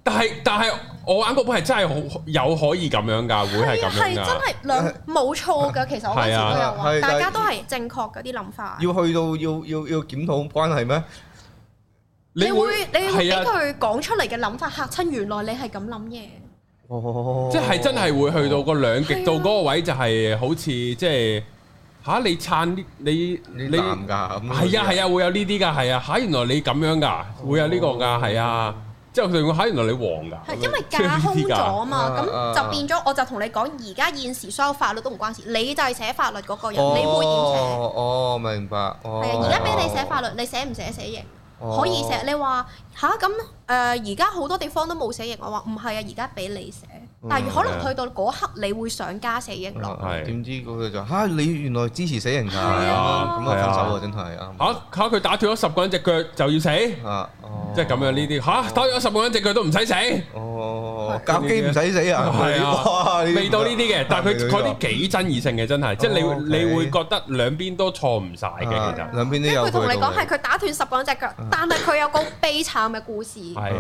但係但係我玩嗰本係真係好有可以咁樣㗎，會係咁樣㗎。 係真係兩冇錯㗎，其實我嗰時都有話，大家都係正確嗰啲諗法。 要去到要要要檢討關係咩？ 你會你會俾佢講出嚟嘅諗法嚇親，原來你係咁諗嘢。 哦， 即係真係會去到個兩極度嗰個位，就係好似即係嚇你撐你你男㗎咁。 係啊係啊，會有呢啲㗎，係啊嚇原來你咁樣㗎，會有呢個㗎，係啊。之後佢哋會嚇原來你黃㗎。係因為架空咗啊嘛，咁就變咗我就同你講，而家現時所有法律都唔關事，你就係寫法律嗰個人，你會點寫？ 哦，明白。係啊，而家俾你寫法律，你寫唔寫死刑？可以寫。你話吓咁誒？而家好多地方都冇死刑，我話唔係啊，而家俾你寫，但係可能去到嗰刻你會想加死刑落。 點知嗰個就嚇你原來支持死刑㗎？ 係啊， 咁啊分手啊，真係啊！ 嚇嚇佢打斷咗十個人隻腳就要死啊！即係咁樣呢啲嚇打斷咗十個人隻腳都唔使死。 哦，教機唔使死啊！ 係啊，未到呢啲嘅，但係佢嗰啲幾爭議性嘅真係，即係你你會覺得兩邊都錯唔晒嘅，其實兩邊都有。 佢同你講係佢打斷十個人隻腳，但係佢有個悲慘嘅故事。 係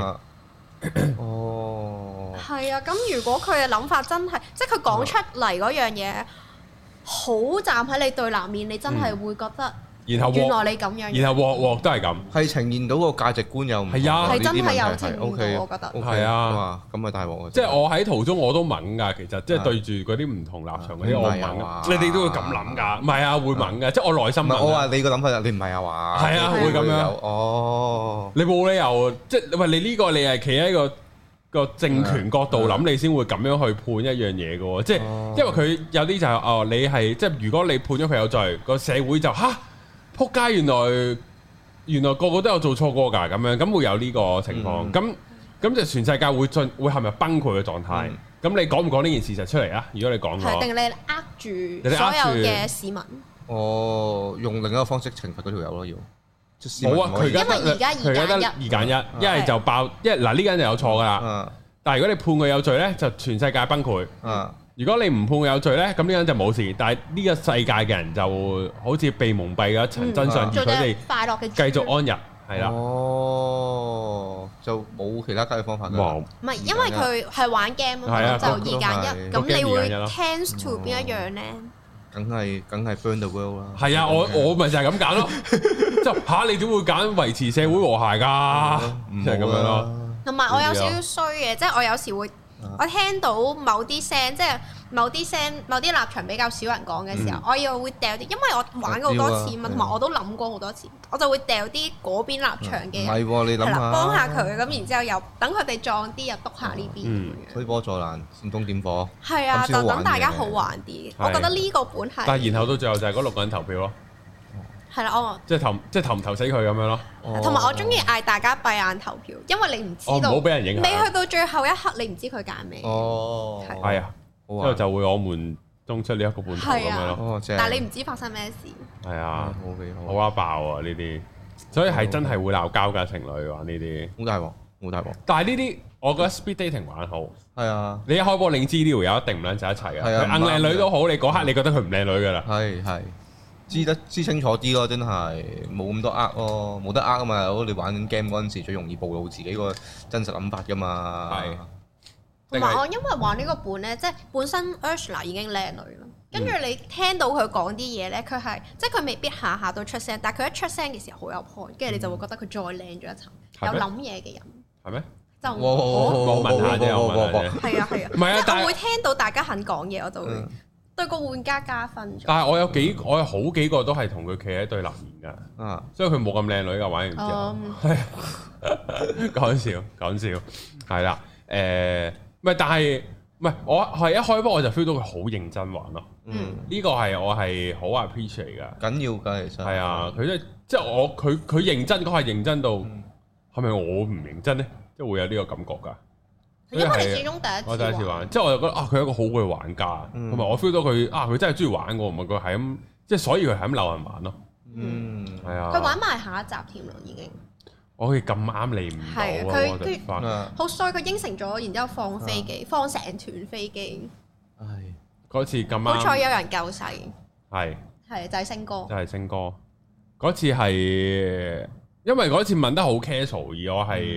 哦， 係啊，咁如果佢嘅諗法真係，即係佢講出嚟嗰樣嘢，好站喺你對立面，你真係會覺得。 然後原來你咁樣， 然後鑊鑊都係咁， 係呈現到個價值觀又唔係啊， 係真係有呈現到，我覺得係啊， 咁啊大鑊啊！ 即係我喺途中我都猛㗎，其實即係對住嗰啲唔同立場嗰啲我猛㗎，你哋都會咁諗㗎？唔係啊，會猛㗎，即係我內心。 我話你個諗法，你唔係啊話。 係啊，會咁樣。 哦， 你冇理由即係喂，你呢個你係企喺個個政權角度諗，你先會咁樣去判一樣嘢㗎喎。即係因為佢有啲就係哦，你係即係如果你判咗佢有罪，個社會就嚇。撲街！原來原來個個都有做錯過㗎，咁樣咁會有呢個情況，咁咁、嗯、就全世界會進會陷入崩潰嘅狀態。咁、嗯、你講唔講呢件事實出嚟啊？如果你講咗， 定你呃住所有嘅市民？ 哦，用另一個方式懲罰嗰條友咯，要冇啊！佢而家得佢而家得二揀一，一係就爆，一嗱呢個人就有錯㗎啦。嗯、但係如果你判佢有罪咧，就全世界崩潰。嗯如果你唔判佢有罪咧，咁呢個人就冇事。但係呢個世界嘅人就好似被蒙蔽咗一層真相，而佢哋快樂嘅繼續安逸，係啦。 哦，就冇其他解決方法㗎。冇。 唔係，因為佢係玩 game 啊，就二揀一。咁你會 tends to 邊一樣咧？ 梗係梗係 burn the world 啦。 係啊，我我咪就係咁揀咯。即係嚇你點會揀維持社會和諧㗎？就係咁樣咯。 同埋我有少少衰嘅，即係我有時會。我聽到某啲聲，即係某啲聲、某啲立場比較少人講嘅時候，嗯、我又會掉啲，因為我玩過好多次嘛，同埋、啊、我都諗過好多次，我就會掉啲嗰邊立場嘅， 係喎、啊，你諗下， 幫下佢，咁然之後又等佢哋撞啲，又督下呢邊咁樣。 推波助瀾，煽風點火。 係啊，就等大家好玩啲。我覺得呢個本係。 但係然後到最後就係嗰六個人投票咯。係啦，我即係投，即係投唔投死佢咁樣咯。 同埋我中意嗌大家閉眼投票，因為你唔知道， 唔好俾人影響。 你去到最後一刻，你唔知佢揀咩。 哦， 係啊，之後就會我們中出呢一個半頭咁樣咯。 但係你唔知發生咩事。 係啊，好啊爆啊呢啲，所以係真係會鬧交㗎情侶玩呢啲。 好大鑊，好大鑊。 但係呢啲我覺得 speed dating 玩好。係啊， 你一開波你知呢條友一定唔撚就一齊㗎。係啊，硬靚女都好，你嗰刻你覺得佢唔靚女㗎啦。 係係。知得知清楚啲咯，真係冇咁多呃咯，冇得呃啊嘛！你玩 game 嗰陣時最容易暴露自己個真實諗法噶嘛。係。 同埋我因為玩呢個本咧，即係本身 Ursula 已經靚女啦，跟住你聽到佢講啲嘢咧，佢係即係佢未必下下都出聲，但係佢一出聲嘅時候好有 point，跟住你就會覺得佢再靚咗一層，有諗嘢嘅人。係咩？就我問下啫，我問下啫。 係啊係啊。唔係啊，但係我會聽到大家肯講嘢，我就會。對個玩家加分咗。但係我有幾，我有好幾個都係同佢企喺對立面㗎，啊，所以佢冇咁靚女㗎，玩完之後。係講笑講笑，係啦，誒，唔係，但係唔係我係一開波我就 feel 到佢好認真玩咯。嗯，呢個係我係好 appreciate 㗎。緊要㗎，其實。係啊，佢即係即係我佢佢認真，嗰係認真到係咪我唔認真咧？即係會有呢個感覺㗎。 因為你始終第一次， 我第一次玩，即係我就覺得啊，佢係一個好嘅玩家，同埋我 feel 到佢啊，佢真係中意玩我，唔係佢係咁，即係所以佢係咁溜人玩咯。嗯，係啊。佢玩埋下一集添咯，已經。我好似咁啱嚟唔到啊！佢佢好衰，佢應承咗，然之後放飛機，放成團飛機。唉，嗰次咁啱。好彩有人救世。係。係就係星哥。就係星哥。嗰次係因為嗰次問得好 casual，而我係。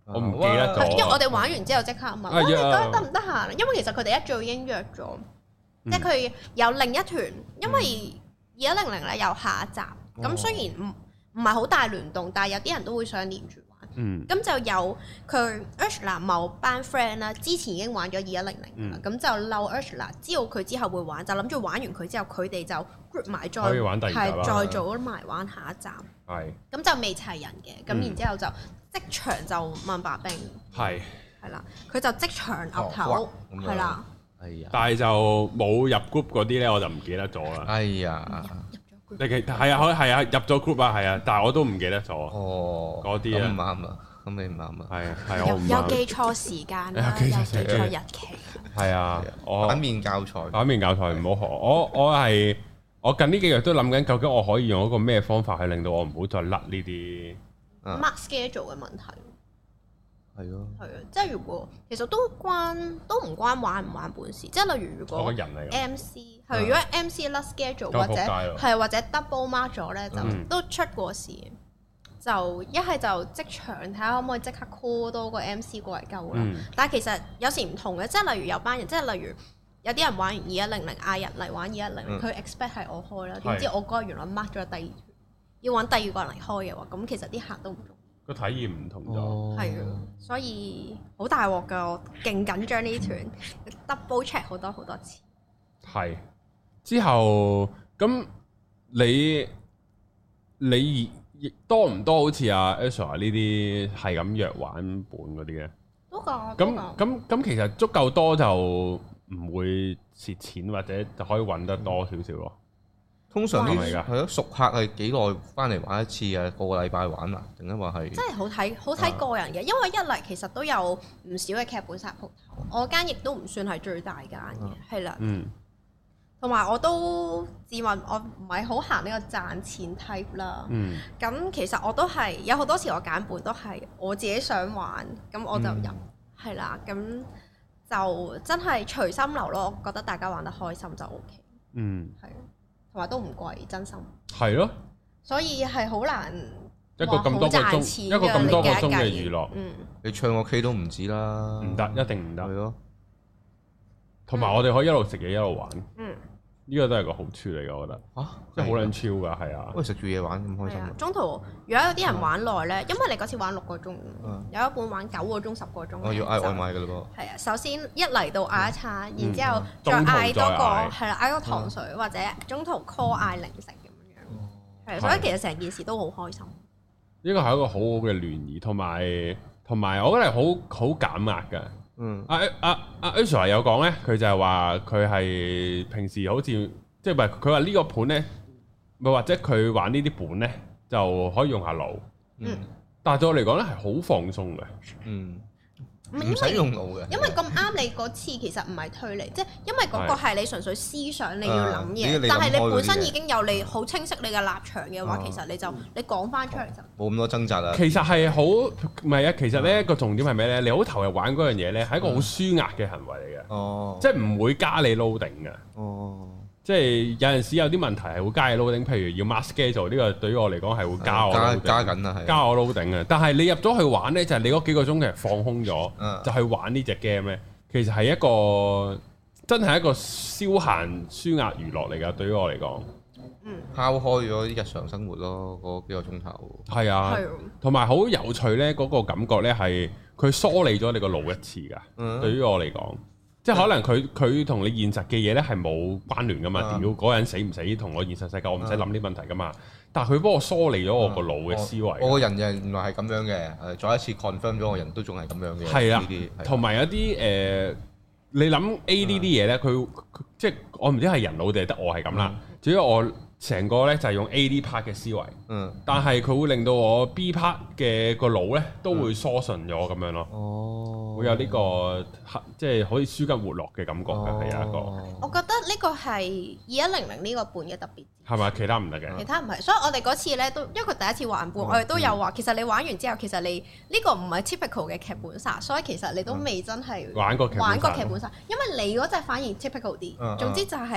我唔記得咗。 因為我哋玩完之後即刻問，你覺得得唔得閒？因為其實佢哋一早已經約咗，即係佢有另一團，因為二一零零咧有下一集，咁雖然唔唔係好大聯動，但係有啲人都會想連住。嗯，咁就有佢 Ursula 某班 friend 啦，之前已經玩咗二一零零啦，咁就嬲 Ursula，知道佢之後會玩，就諗住玩完佢之後，佢哋就 group 埋再係再做埋玩下一站。係，咁就未齊人嘅，咁然之後就即場就問白兵，係係啦，佢就即場岌頭，係啦，係啊，但係就冇入 group 嗰啲咧，我就唔記得咗啦。哎呀！你其係啊，係啊，入咗 group 啊，係啊，但係我都唔記得咗。哦，嗰啲啊，咁唔啱啊，咁你唔啱啊。係啊，係我唔啱。有記錯時間啦，有記錯日期。係啊，我反面教材，反面教材唔好學。我我係我近呢幾日都諗緊，究竟我可以用一個咩方法去令到我唔好再甩呢啲 mark schedule 嘅問題。係咯，係啊，即係如果其實都關都唔關玩唔玩本事，即係例如如果 M C 係如果 M C 甩 schedule 或者係或者 double mark 咗咧，就都出過事，就一係就即場睇下可唔可以即刻 call 多個 M C 過嚟救啦。但係其實有時唔同嘅，即係例如有班人，即係例如有啲人玩完二一零零嗌人嚟玩二一零零，佢 expect 係我開啦，點知我嗰日原來 mark 咗第二團，要揾第二個人嚟開嘅話，咁其實啲客都唔同。個體驗唔同咗，係啊，所以好大鑊㗎，我勁緊張呢團 double check 好多好多次。係之後咁你你多唔多好似阿 Ursula 呢啲係咁約玩本嗰啲嘅？多㗎。咁咁咁其實足夠多就唔會蝕錢，或者就可以揾得多少少咯。通常啲係咯，熟客係幾耐翻嚟玩一次啊？個個禮拜玩啊？定係話係？真係好睇，好睇個人嘅。因為一嚟其實都有唔少嘅劇本殺鋪頭，我間亦都唔算係最大間嘅，係啦。嗯。同埋我都自問我唔係好行呢個賺錢 type 啦。嗯。咁其實我都係有好多時我揀本都係我自己想玩，咁我就入係啦。咁就真係隨心流咯。我覺得大家玩得開心就 O K。嗯。係。同埋都唔貴，真心。係咯。所以係好難一個咁多個鐘，一個咁多個鐘嘅娛樂。嗯。你唱個 K 都唔止啦。唔得，一定唔得。係咯。同埋我哋可以一路食嘢一路玩。嗯。呢個都係個好處嚟㗎，我覺得。嚇！即係好撚超㗎，係啊。喂，食住嘢玩咁開心。中途如果有啲人玩耐咧，因為你嗰次玩六個鐘，有一半玩九個鐘、十個鐘。我要嗌外賣㗎嘞噃。係啊，首先一嚟到嗌一餐，然之後再嗌多個係啦，嗌個糖水或者中途 call 嗌零食咁樣。係，所以其實成件事都好開心。呢個係一個好好嘅聯誼，同埋同埋我覺得係好好減壓㗎。嗯，阿阿阿 Ursula 有講咧，佢就係話佢係平時好似即係唔係佢話呢個盤咧，咪或者佢玩呢啲本咧就可以用下腦。嗯，但係對我嚟講咧係好放鬆嘅。嗯，唔使用腦嘅，因為咁啱你嗰次其實唔係推理，即係因為嗰個係你純粹思想你要諗嘢，但係你本身已經有你好清晰你嘅立場嘅話，其實你就你講翻出嚟就冇咁多掙扎啦。其實係好唔係啊？其實咧個重點係咩咧？你好投入玩嗰樣嘢咧，係一個好舒壓嘅行為嚟嘅。哦，即係唔會加你 loading 嘅。哦。即係有陣時有啲問題係會加你 loading，譬如要 mark schedule 呢個對於我嚟講係會加我加加緊啊，係加我 loading 嘅。但係你入咗去玩咧，就係你嗰幾個鐘其實放空咗，就去玩呢隻 game 咧，其實係一個真係一個消閒舒壓娛樂嚟㗎。對於我嚟講，嗯，拋開咗啲日常生活咯，嗰幾個鐘頭。係啊，同埋好有趣咧，嗰個感覺咧係佢梳理咗你個腦一次㗎。嗯，對於我嚟講。即係可能佢佢同你現實嘅嘢咧係冇關聯噶嘛，屌嗰個人死唔死同我現實世界我唔使諗啲問題噶嘛，但係佢幫我梳理咗我個腦嘅思維。我個人原來係咁樣嘅，再一次 confirm 咗我人都仲係咁樣嘅。係啊，同埋有啲誒，你諗 A 呢啲嘢咧，佢即係我唔知係人腦定係得我係咁啦。主要我成個咧就係用 A 呢 part 嘅思維，嗯，但係佢會令到我 B part 嘅個腦咧都會疏順咗咁樣咯。哦，會有呢個即係可以舒筋活絡嘅感覺嘅，係有一個。我覺得呢個係二一零零呢個本嘅特別。係咪？其他唔得嘅。其他唔係，所以我哋嗰次咧都因為佢第一次玩本，我哋都有話，其實你玩完之後，其實你呢個唔係 typical 嘅劇本殺，所以其實你都未真係玩過玩過劇本殺，因為你嗰隻反而 typical 啲。總之就係。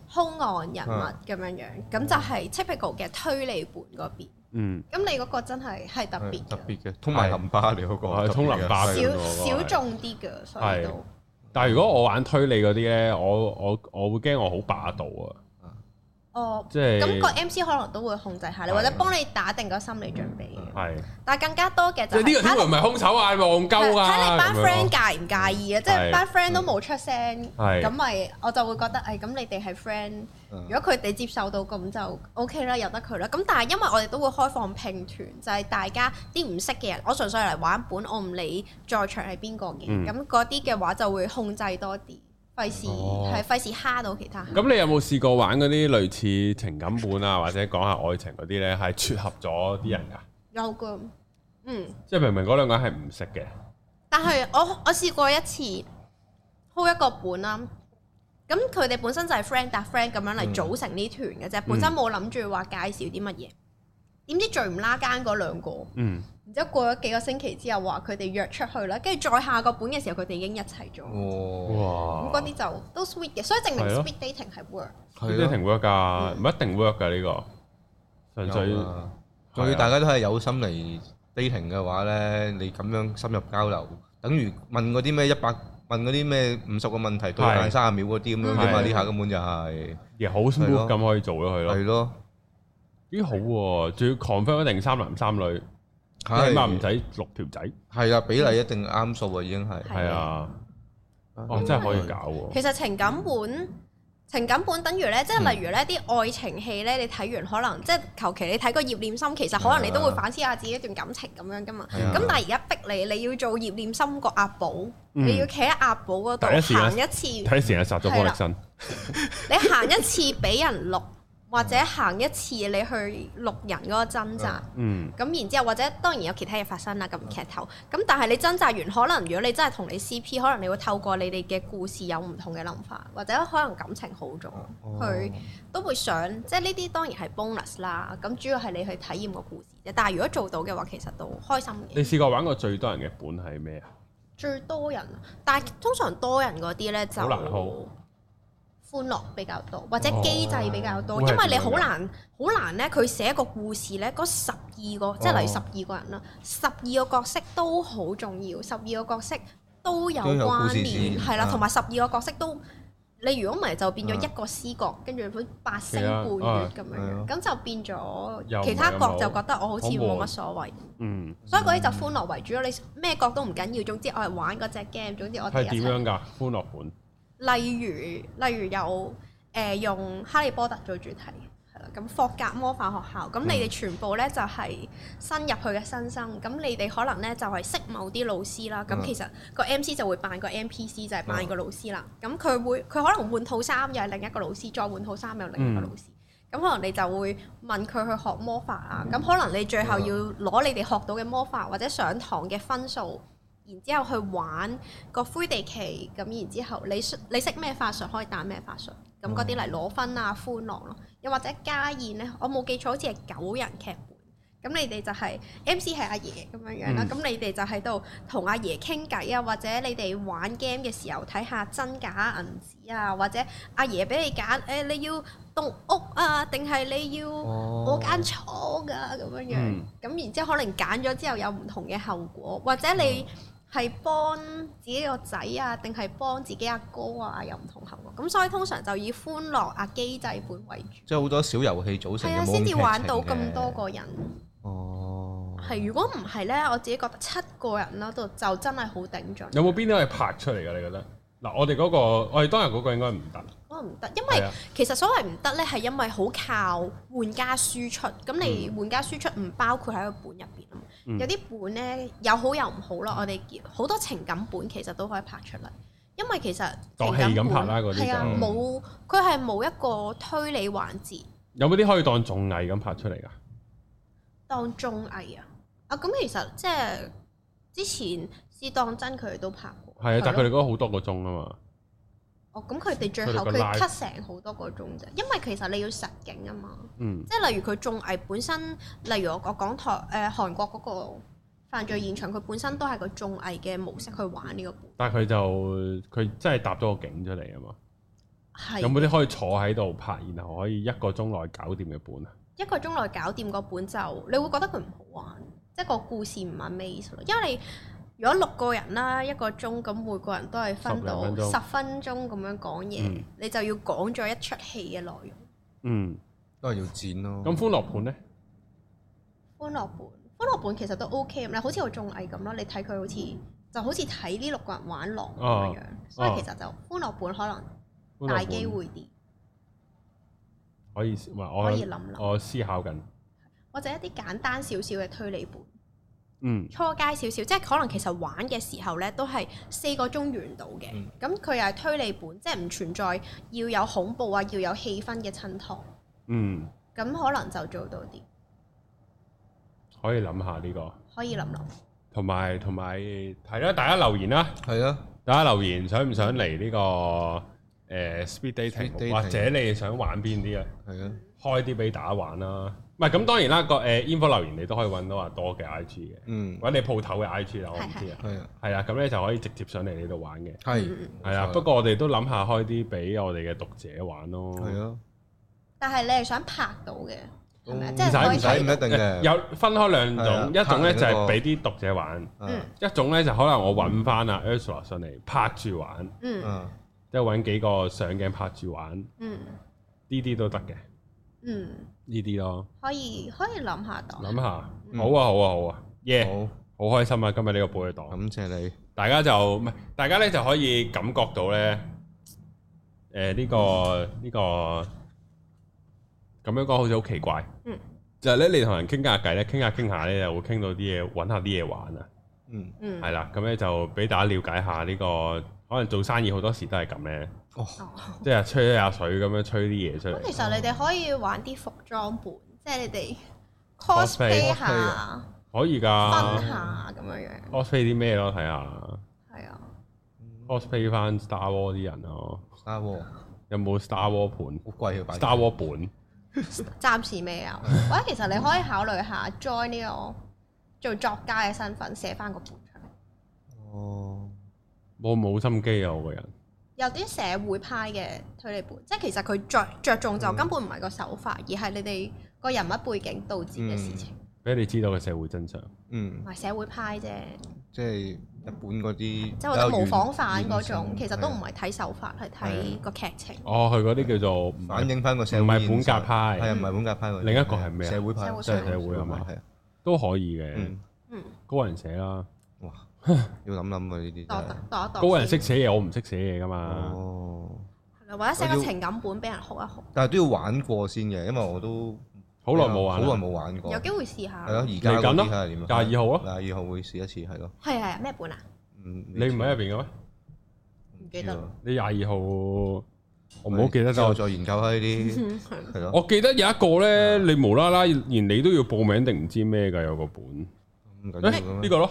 兇案人物咁樣樣，咁就係 typical 嘅推理本嗰邊。嗯，咁你嗰個真係係特別特別嘅，通埋淋巴你嗰個係通淋巴少少眾啲嘅，所以都。 但係如果我玩推理嗰啲咧，我我我會驚我好霸道啊。 哦， 即係咁個 M C 可能都會控制下你，或者幫你打定個心理準備嘅。 係， 但係更加多嘅就係呢個天王唔係兇手啊，戇鳩啊！ 睇你班 friend 介唔介意啊？即係班 friend 都冇出聲，咁咪我就會覺得誒，咁你哋係 friend，如果佢哋接受到咁就 OK 啦，由得佢啦。咁但係因為我哋都會開放拼團，就係大家啲唔識嘅人，我純粹嚟玩本，我唔理在場係邊個嘅，咁嗰啲嘅話就會控制多啲。費事係費事蝦到其他。 咁你有冇試過玩嗰啲類似情感本啊，或者講下愛情嗰啲咧，係撮合咗啲人㗎？ 有㗎，嗯。即係明明嗰兩個人係唔識嘅。 但係我我試過一次開一個本啦，咁佢哋本身就係 friend 搭 friend 咁樣嚟組成呢團嘅啫，嗯、本身冇諗住話介紹啲乜嘢。點知最唔拉更嗰兩個，嗯，然之後過咗幾個星期之後話佢哋約出去啦，跟住再下個本嘅時候佢哋已經一齊咗，哇！咁嗰啲就都 sweet 嘅，所以證明 speed dating 係 work，speed dating work 㗎，唔一定 work 㗎呢個，純粹仲要大家都係有心嚟 dating 嘅話咧，你咁樣深入交流，等於問嗰啲咩一百問嗰啲咩五十個問題對眼三十秒嗰啲咁樣啫嘛，呢下根本就係亦好 smooth 咁可以做咗佢咯， 係咯。 幾好喎，仲要 confirm 一定三男三女，起碼唔使六條仔。 係啊，比例一定啱數啊，已經係。 係啊，哦，真係可以搞喎。 其實情感本，情感本等於咧，即係例如咧啲愛情戲咧，你睇完可能即係求其你睇個葉念琛，其實可能你都會反思下自己一段感情咁樣噶嘛。咁但係而家逼你，你要做葉念琛個阿寶，你要企喺阿寶嗰度行一次， 睇成日殺咗方力申。 你行一次俾人錄。或者行一次你去錄人嗰個掙扎，咁、嗯、然之後或者當然有其他嘢發生啦，咁劇透。咁但係你掙扎完，可能如果你真係同你 C P，可能你會透過你哋嘅故事有唔同嘅諗法，或者可能感情好咗，佢、哦、都會想，即係呢啲當然係 bonus 啦。咁主要係你去體驗個故事啫。但係如果做到嘅話，其實都開心嘅。 你試過玩過最多人嘅本係咩啊？ 最多人，但係通常多人嗰啲咧就好難 hold。歡樂比較多，或者機制比較多，哦、因為你好難好難咧。佢寫一個故事咧，嗰十二個，哦、即係例如十二個人啦，十二個角色都好重要，十二個角色都有關聯，係啦，同埋十二個角色都，你如果唔係就變咗一個司角，跟住好八星半月咁樣，咁、啊、就變咗其他角就覺得我好似冇乜所謂。嗯，所以嗰啲就歡樂為主咯。你咩角都唔緊要，總之我係玩嗰隻 game，總之我哋係點樣㗎？歡樂本。 例如，例如有誒、呃、用哈利波特做主題，係啦，咁霍格魔法學校，咁、嗯、你哋全部咧就係新入去嘅新生，咁你哋可能咧就係識某啲老師啦，咁、嗯、其實個 M C 就會扮個 N P C，就係扮個老師啦，咁佢、嗯、會佢可能換套衫又係另一個老師，再換套衫又另一個老師，咁、嗯、可能你就會問佢去學魔法啊，咁、嗯、可能你最後要攞你哋學到嘅魔法或者上堂嘅分數。然之後去玩個魁地奇，咁然之後你你識咩法術可以打咩法術，咁嗰啲嚟攞分啊歡樂咯，又或者家宴咧，我冇記錯好似係九人劇本，咁你哋就係 M C 係阿爺咁樣樣啦，咁、嗯、你哋就喺度同阿爺傾偈啊，或者你哋玩 game 嘅時候睇下真假銀紙啊，或者阿爺俾你揀，誒、欸、你要棟屋啊，定係你要我間廠㗎咁樣樣，咁、嗯、然之後可能揀咗之後有唔同嘅後果，或者你。嗯係幫自己個仔啊，定係幫自己阿哥啊，有唔同後果。咁所以通常就以歡樂啊機制本為主。即係好多小遊戲組成嘅，係啊， 先至玩到咁多個人。 哦。 係，如果唔係咧，我自己覺得七個人啦，都就真係好頂盡。 有冇邊啲可以拍出嚟㗎？你覺得？嗱，我哋嗰個，我哋當日嗰個應該唔得。 可能唔得，因為其實所謂唔得咧，係因為好靠玩家輸出。咁你玩家輸出唔包括喺個本入邊啊嘛。嗯、有啲本咧有好有唔好咯。我哋好多情感本其實都可以拍出嚟，因為其實情感本係啊冇，佢係冇一個推理環節。 有冇啲可以當綜藝咁拍出嚟㗎？ 當綜藝啊！啊咁其實即係之前試當真佢哋都拍過。係啊， 但係佢哋嗰個好多個鐘啊嘛。 哦，咁佢哋最後佢 cut 成好多個鐘啫，因為其實你要實景啊嘛，嗯、即係例如佢綜藝本身，例如我我講台誒、呃、韓國嗰個犯罪現場，佢本身都係個綜藝嘅模式去玩呢個本。 但係佢就佢真係搭咗個景出嚟啊嘛。 係有冇啲可以坐喺度拍，然後可以一個鐘內搞掂嘅本啊？ 一個鐘內搞掂個本就你會覺得佢唔好玩，即係個故事唔 amaze 咯。因為你如果六個人啦，一個鐘咁，每個人都係分到十分鐘咁樣講嘢，嗯、你就要講咗一出戲嘅內容。嗯， 都係要剪咯。 咁歡樂本咧？ 歡樂本，歡樂本其實都 OK 咁咧，好似個綜藝咁咯。你睇佢好似就好似睇呢六個人玩狼咁樣，啊、所以其實就歡樂本可能大機會啲。 可以，唔係我可以諗諗，我思考緊。 或者一啲簡單少少嘅推理本， 嗯， 初階少少，即係可能其實玩嘅時候咧，都係四個鐘完到嘅。咁佢又係推理本，即係唔存在要有恐怖啊，要有氣氛嘅襯托。 嗯， 咁可能就做到啲。 可以諗下呢個。 可以諗諗。 同埋同埋係啦，大家留言啦， 係啊， 大家留言想唔想嚟呢個？誒 speed dating 或者你想玩邊啲啊？ 係啊， 開啲俾大家玩啦。唔係咁當然啦，個誒 info 留言你都可以揾到阿多嘅 I G 嘅，嗯，或者你鋪頭嘅 I G 啦，我唔知啊。係啊，係啊，咁咧就可以直接上嚟呢度玩嘅。 係係啊，不過我哋都諗下開啲俾我哋嘅讀者玩咯。係啊， 但係你係想拍到嘅，係咪？即係唔使唔使唔一定嘅。 有分開兩種，一種咧就係俾啲讀者玩，一種咧就可能我揾翻阿 Ursula 上嚟拍住玩。嗯。即係揾幾個上鏡拍住玩，嗯，呢啲都得嘅，嗯，呢啲咯， 可以可以諗下檔， 諗下，好啊好啊好啊，耶，好開心啊！今日呢個寶藥黨， 感謝你， 大家就唔係，大家咧就可以感覺到咧，誒呢個呢個咁樣講好似好奇怪，嗯，就係咧你同人傾下偈咧，傾下傾下咧就會傾到啲嘢，揾下啲嘢玩啊，嗯嗯，係啦，咁咧就俾大家了解下呢個。可能做生意好多時都係咁咧，哦，即係吹下水咁樣吹啲嘢出嚟。 咁其實你哋可以玩啲服裝本，即係你哋 cosplay 下， 可以㗎， 分下咁樣樣。 cosplay 啲咩咯？睇下。 係啊。 cosplay 翻 Star War 啲人咯。 Star War 有冇 Star War 盤？ 好貴啊 ！Star War 本。 暫時未有。或者其實你可以考慮下 join 呢個做作家嘅身份，寫翻個本出嚟。 哦。 我冇心機啊！我個人有啲社會派嘅推理本，即係其實佢着着重就根本唔係個手法，嗯、而係你哋個人物背景導致嘅事情，俾、 嗯、你知道嘅社會真相。 嗯， 唔係社會派啫， 即係日本嗰啲，即係或者模仿犯嗰種，其實都唔係睇手法，係睇個劇情。 哦，佢嗰啲叫做反映翻個社會， 唔係本格派， 係唔係本格派？ 另一個係咩啊？ 社會派， 即係社會係嘛？係啊，都可以嘅。嗯，嗯高人寫啦。哇！ 要諗諗啊呢啲， 高人識寫嘢，我唔識寫嘢噶嘛。 哦， 係啦，或者寫個情感本俾人學一學。 但係都要玩過先嘅，因為我都好耐冇玩， 好耐冇玩過。 有機會試下。 係咯，而家嗰啲睇下點。 廿二號咯， 廿二號會試一次，係咯。 係係咩本啊？ 嗯， 你唔喺入邊嘅咩？ 唔記得。 你廿二號，我唔好記得咗。 我再研究下呢啲，係咯。 我記得有一個咧，你無啦啦連你都要報名定唔知咩㗎？有個本。 唔緊要嘅咩？ 呢個咯。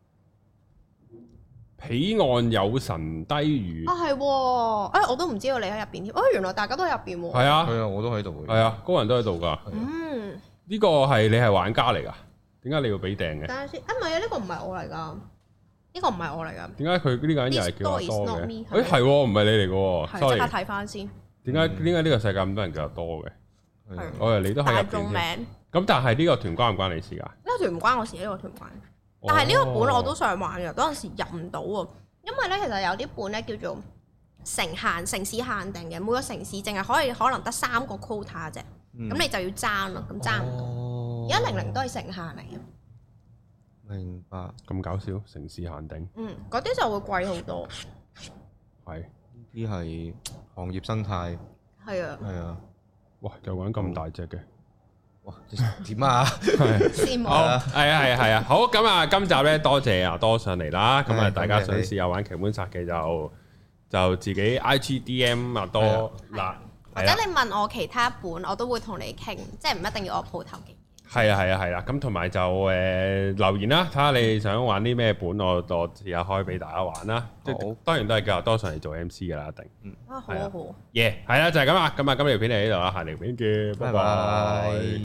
彼岸有神低語啊，係喎，哎，我都唔知道你喺入邊添，哦，原來大家都喺入邊喎。 係啊， 係啊，我都喺度。 係啊，高人都喺度㗎。嗯，呢個係你係玩家嚟㗎？點解你要俾訂嘅？ 等下先，啊唔係啊，呢個唔係我嚟㗎，呢個唔係我嚟㗎。 點解佢呢個人又係叫阿多嘅？誒誒係喎，唔係你嚟㗎喎。 sorry，即刻睇翻先。 點解點解呢個世界咁多人叫阿多嘅？我以為你都喺入邊。大眾名。咁但係呢個團關唔關你事㗎？ 呢個團唔關我事，呢個團關。但係呢個本我都想玩嘅，嗰陣時入唔到喎。因為咧，其實有啲本咧叫做城限、城市限定嘅，每個城市淨係可以可能得三個 quota 啫，咁、嗯、你就要爭咯，咁爭唔到。而家零零都係城限嚟嘅。 明白。 咁搞笑，城市限定。 嗯，嗰啲就會貴好多。 係， 呢啲係行業生態。 係啊。 係啊。 哇！又玩咁大隻嘅。 哇！點啊？ 羨慕。 好，係啊，係啊，係啊。好，咁啊，今集咧多謝阿多上嚟啦。咁啊，大家想試下玩劇本殺嘅就就自己 I G D M 阿多嗱， 或者你問我其他本，我都會同你傾，即係唔一定要我鋪頭嘅。 係啊，係啊，係啦。咁同埋就誒留言啦，睇下你想玩啲咩本，我我試下開俾大家玩啦。即係當然都係叫阿多上嚟做 M C 噶啦，一定。 嗯。啊，好啊，好。 耶，係啦，就係咁啦。咁啊，今條片嚟呢度啦，下條片見，拜拜。